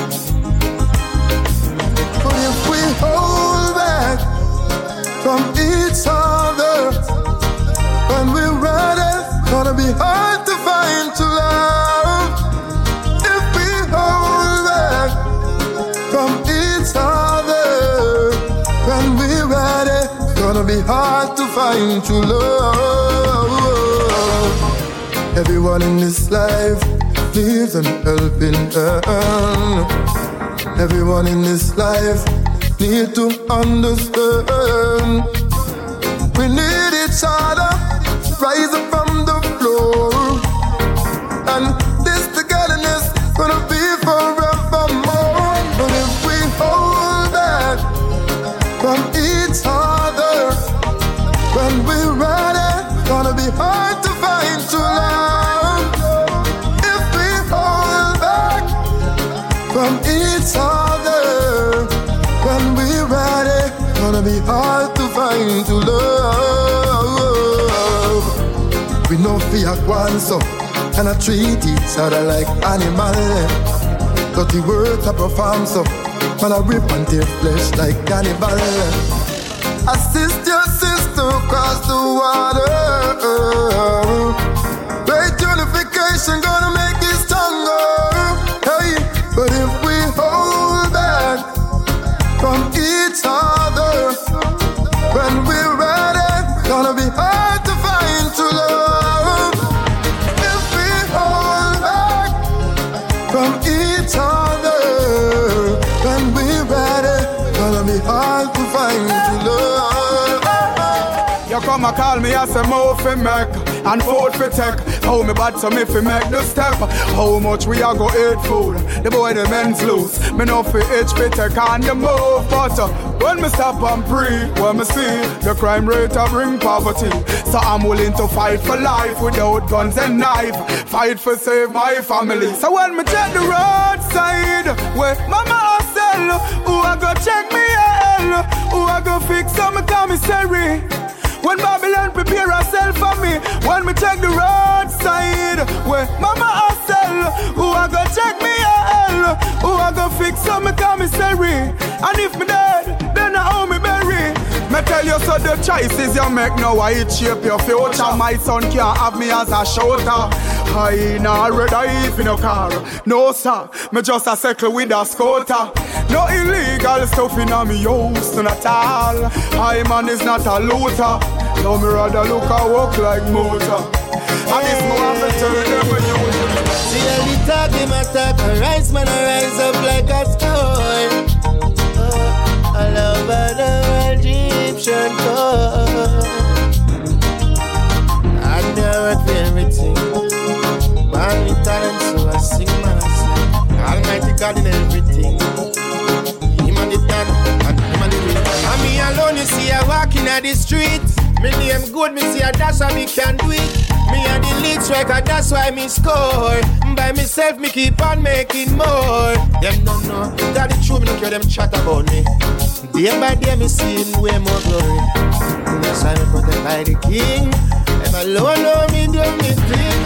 But if we hold back from each other, when we're ready, gonna be hard to find true love. If we hold back from each other, when we're ready, gonna be hard to find true love. Everyone in this life needs an helping hand. Everyone in this life need to understand. We need each other, rise up from the floor. And this togetherness gonna be forevermore. But if we hold back from each other, when we're ready, gonna be hard to find true love. If we hold back from each other, one so. And I treat each other like animal. Dirty words I perform so. Man I rip and tear flesh like cannibal. Assist your sister across the water. Great unification gonna make it stronger. Hey, but if we hold back from each other, when we're ready, gonna be hard to find true love. If we hold back from each other, when we're ready, gonna be hard to find true love. You come and call me as a move fi make and food fi take. How me bad so me fi make the step. How much we a go eat food? The boy the men's loose. Me no fi itch fi take on the move. But when me stop and breathe, when me see the crime rate a bring poverty, so I'm willing to fight for life without guns and knife. Fight for save my family. So when me check the roadside, where mama sell, who a go check me hell, who a go fix some commissary. When Babylon prepare herself for me, when me check the roadside, where mama hustle, who I go check me hell, who I go fix some commissary. And if me dead, then I owe me bury. Me tell you so the choices you make now, it shape your future. My son can't have me as a shooter. I nah red eye in no car, no sir. Me just a circle with a scooter. No illegal stuff in a me house, not at all. I man is not a looter. No me rather look and walk like motor. And this more have to turn them when you. See how the talk, them attack. A rise man, I rise up like a stone. I love the Egyptian God. I never for everything. Man with talent, so I sing, man, I sing. Almighty God in everything. Him and the done, and him and the will. And me alone, you see, I walking at the street. Me name good, me see, that's why me can do it. Me and the lead striker, that's why me score. By myself, me keep on making more. Them don't know, that the truth, me don't care them chat about me. Day by day, me seeing way more glory. That's why me protected by the king. Them alone know me do me thing.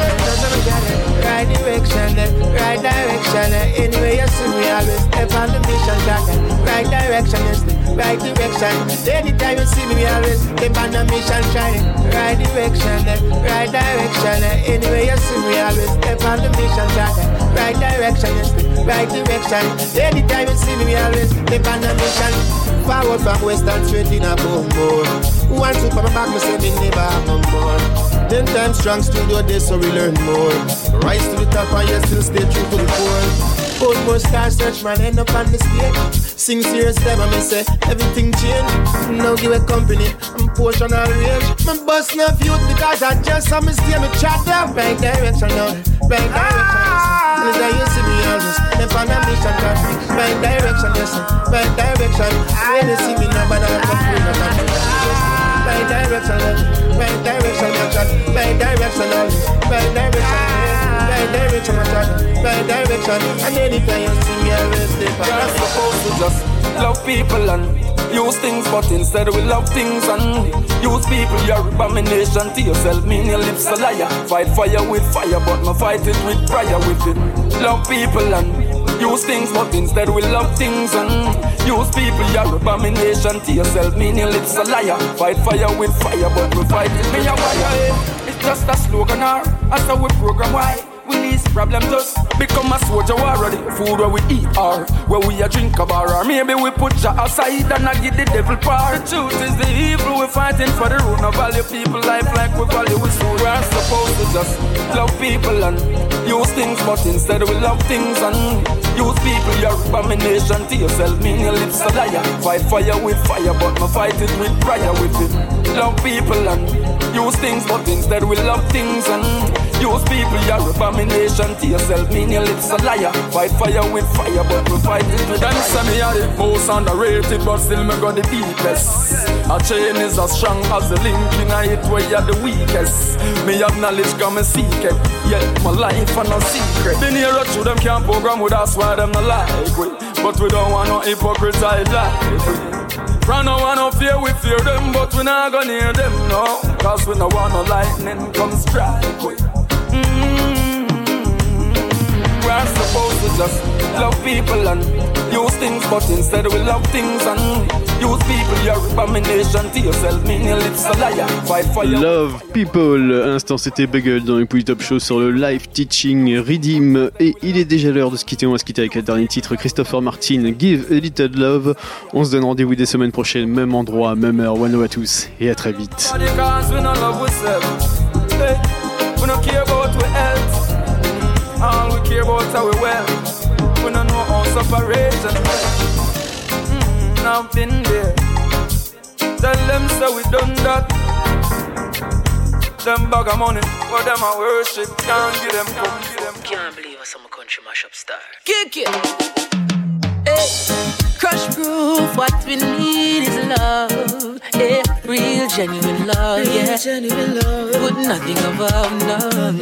Right direction, right direction. Anyway, you see me always step on the mission, right direction, yes, right direction. Anytime you see me always step on the mission, shining. Right direction, right direction. Anyway, you see me always step on the mission, right direction, yes, right direction. Anytime you see me always step on the mission. Forward from western straight in a boom boom. One super back, me say me never have no more. 10 times strong studio day, so we learn more. Rise to the top and yet still stay true to the core. Old more star search man end up on the stage. Sing serious them and me say everything change. Now give a company, I'm portion all range. My bus enough youth because I just saw me stay me chat down. Right direction now, right direction. And as you see me always, them on a mission car. Right direction, yes sir, right direction. When you see me now, but I'm not free, I'm not free. Right direction, right direction, right direction, right direction, right direction, right direction. And anytime you see me, I will stay back. You're supposed to just love people and use things, but instead we love things and use people. You're abomination to yourself, mean your lips a liar. Fight fire with fire, but no fight it with prayer with it. Love people and use things, but instead we love things and use people. You're abomination to yourself, mean your lips a liar. Fight fire with fire, but we fight it with fire. It's just a slogan, or that's how we program. Why? We least problem just become a soldier war. The food where we eat or where we a drink a bar, or maybe we put ya aside and I give the devil power. The truth is the evil we're fighting for the root. No value people life like we value we soul. We're supposed to just love people and use things, but instead we love things and use people. You're abomination to yourself, mean your lips a liar. Fight fire with fire, but no fight it with prayer with it. Love people and use things, but instead we love things and use people. You're abomination to yourself, mean your lips a liar. Fight fire with fire, but we fight it with them say me are the most underrated, but still me got the deepest. A chain is as strong as the link in it where you're the weakest. Me have knowledge come and seek it, yet my life are no secret. The nearer to them can't program with us, why them not like we. But we don't want no hypocrites like we. Run no want no fear, we fear them, but we not gonna hear them, no. Cause we no want no lightning come strike we. We're supposed to just love people and use things, but instead we love things and use people. You're abomination to yourself, mean your lips a liar. Fight for your Love People. À l'instant, c'était Bugle dans le Pouli Top Show sur le live teaching Redeem. Et il est déjà l'heure de se quitter. On va se quitter avec le dernier titre, Christopher Martin, Give a Little Love. On se donne rendez-vous des semaines prochaines, même endroit, même heure. One love à tous et à très vite. We don't care about we health. All we care about how we well. We don't know how separation. I've been there. Tell them so we done that. Them bag of money, but them a worship. Can't give them come. Can't believe I'm a country mashup star. Kick it. Hey. Crush proof, what we need is love. Yeah, real genuine love, yeah. Genuine love. Put nothing above, no.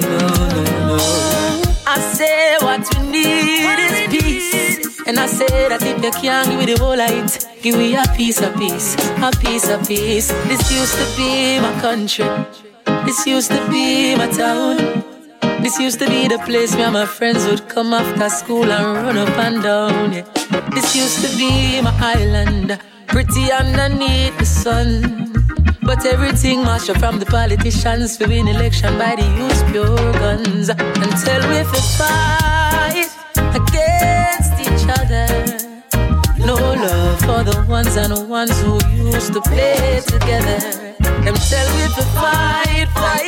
I say what we need is peace. And I say that if you can't give me the whole light, give me a piece of peace, a piece of peace. This used to be my country. This used to be my town. This used to be the place where my friends would come after school and run up and down, yeah. This used to be my island, pretty underneath the sun. But everything mashed up from the politicians to win election by the use pure guns. Until we fight against each other. No love for the ones and the ones who used to play together. Them tell we to fight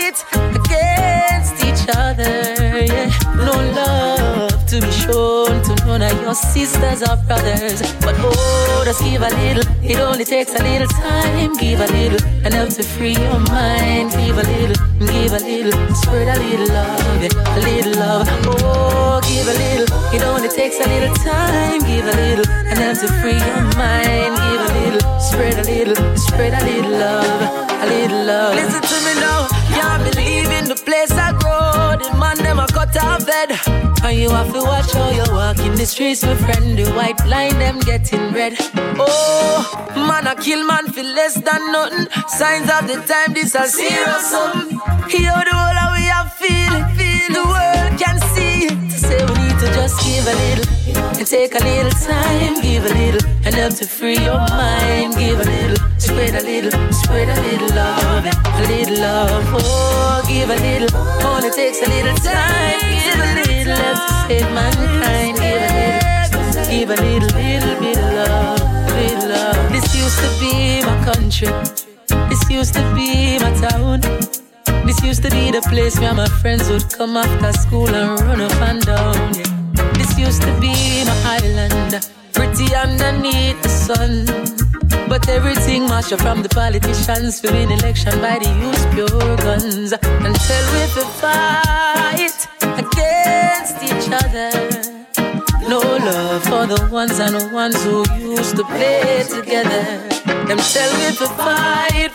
against each other, yeah. No love to be shown to none of your sisters or brothers. But oh, just give a little, it only takes a little time. Give a little, and help to free your mind. Give a little, spread a little love, yeah. A little love. Oh, give a little, it only takes a little time. Give a little, and help to free your mind. Give a little, spread a little love. A little love. Listen to me now. Can't believe in the place I grow. The man them a cut off bed. And you have to watch how you walk in the streets, my friend. The white line them getting red. Oh, man a kill man for less than nothing. Signs of the time this a serious something. Hear the whole of we have feeling. The world can see it. To say we need to just give a little and take a little time. Give a little and help to free your mind. Give a little, spread a little love, a little love. Oh, give a little, only takes a little time. Give a little, help to save mankind. Give a little bit of love, little love. This used to be my country. This used to be my town. This used to be the place where my friends would come after school and run up and down, yeah. This used to be my island, pretty underneath the sun. But everything mashed up from the politicians to win election by the use pure guns. Until we fight against each other. No love for the ones and the ones who used to play together. Them tell me to fight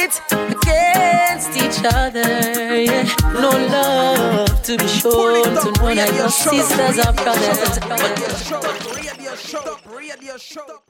against each other, yeah. No love to be shown to none of your sisters or brothers.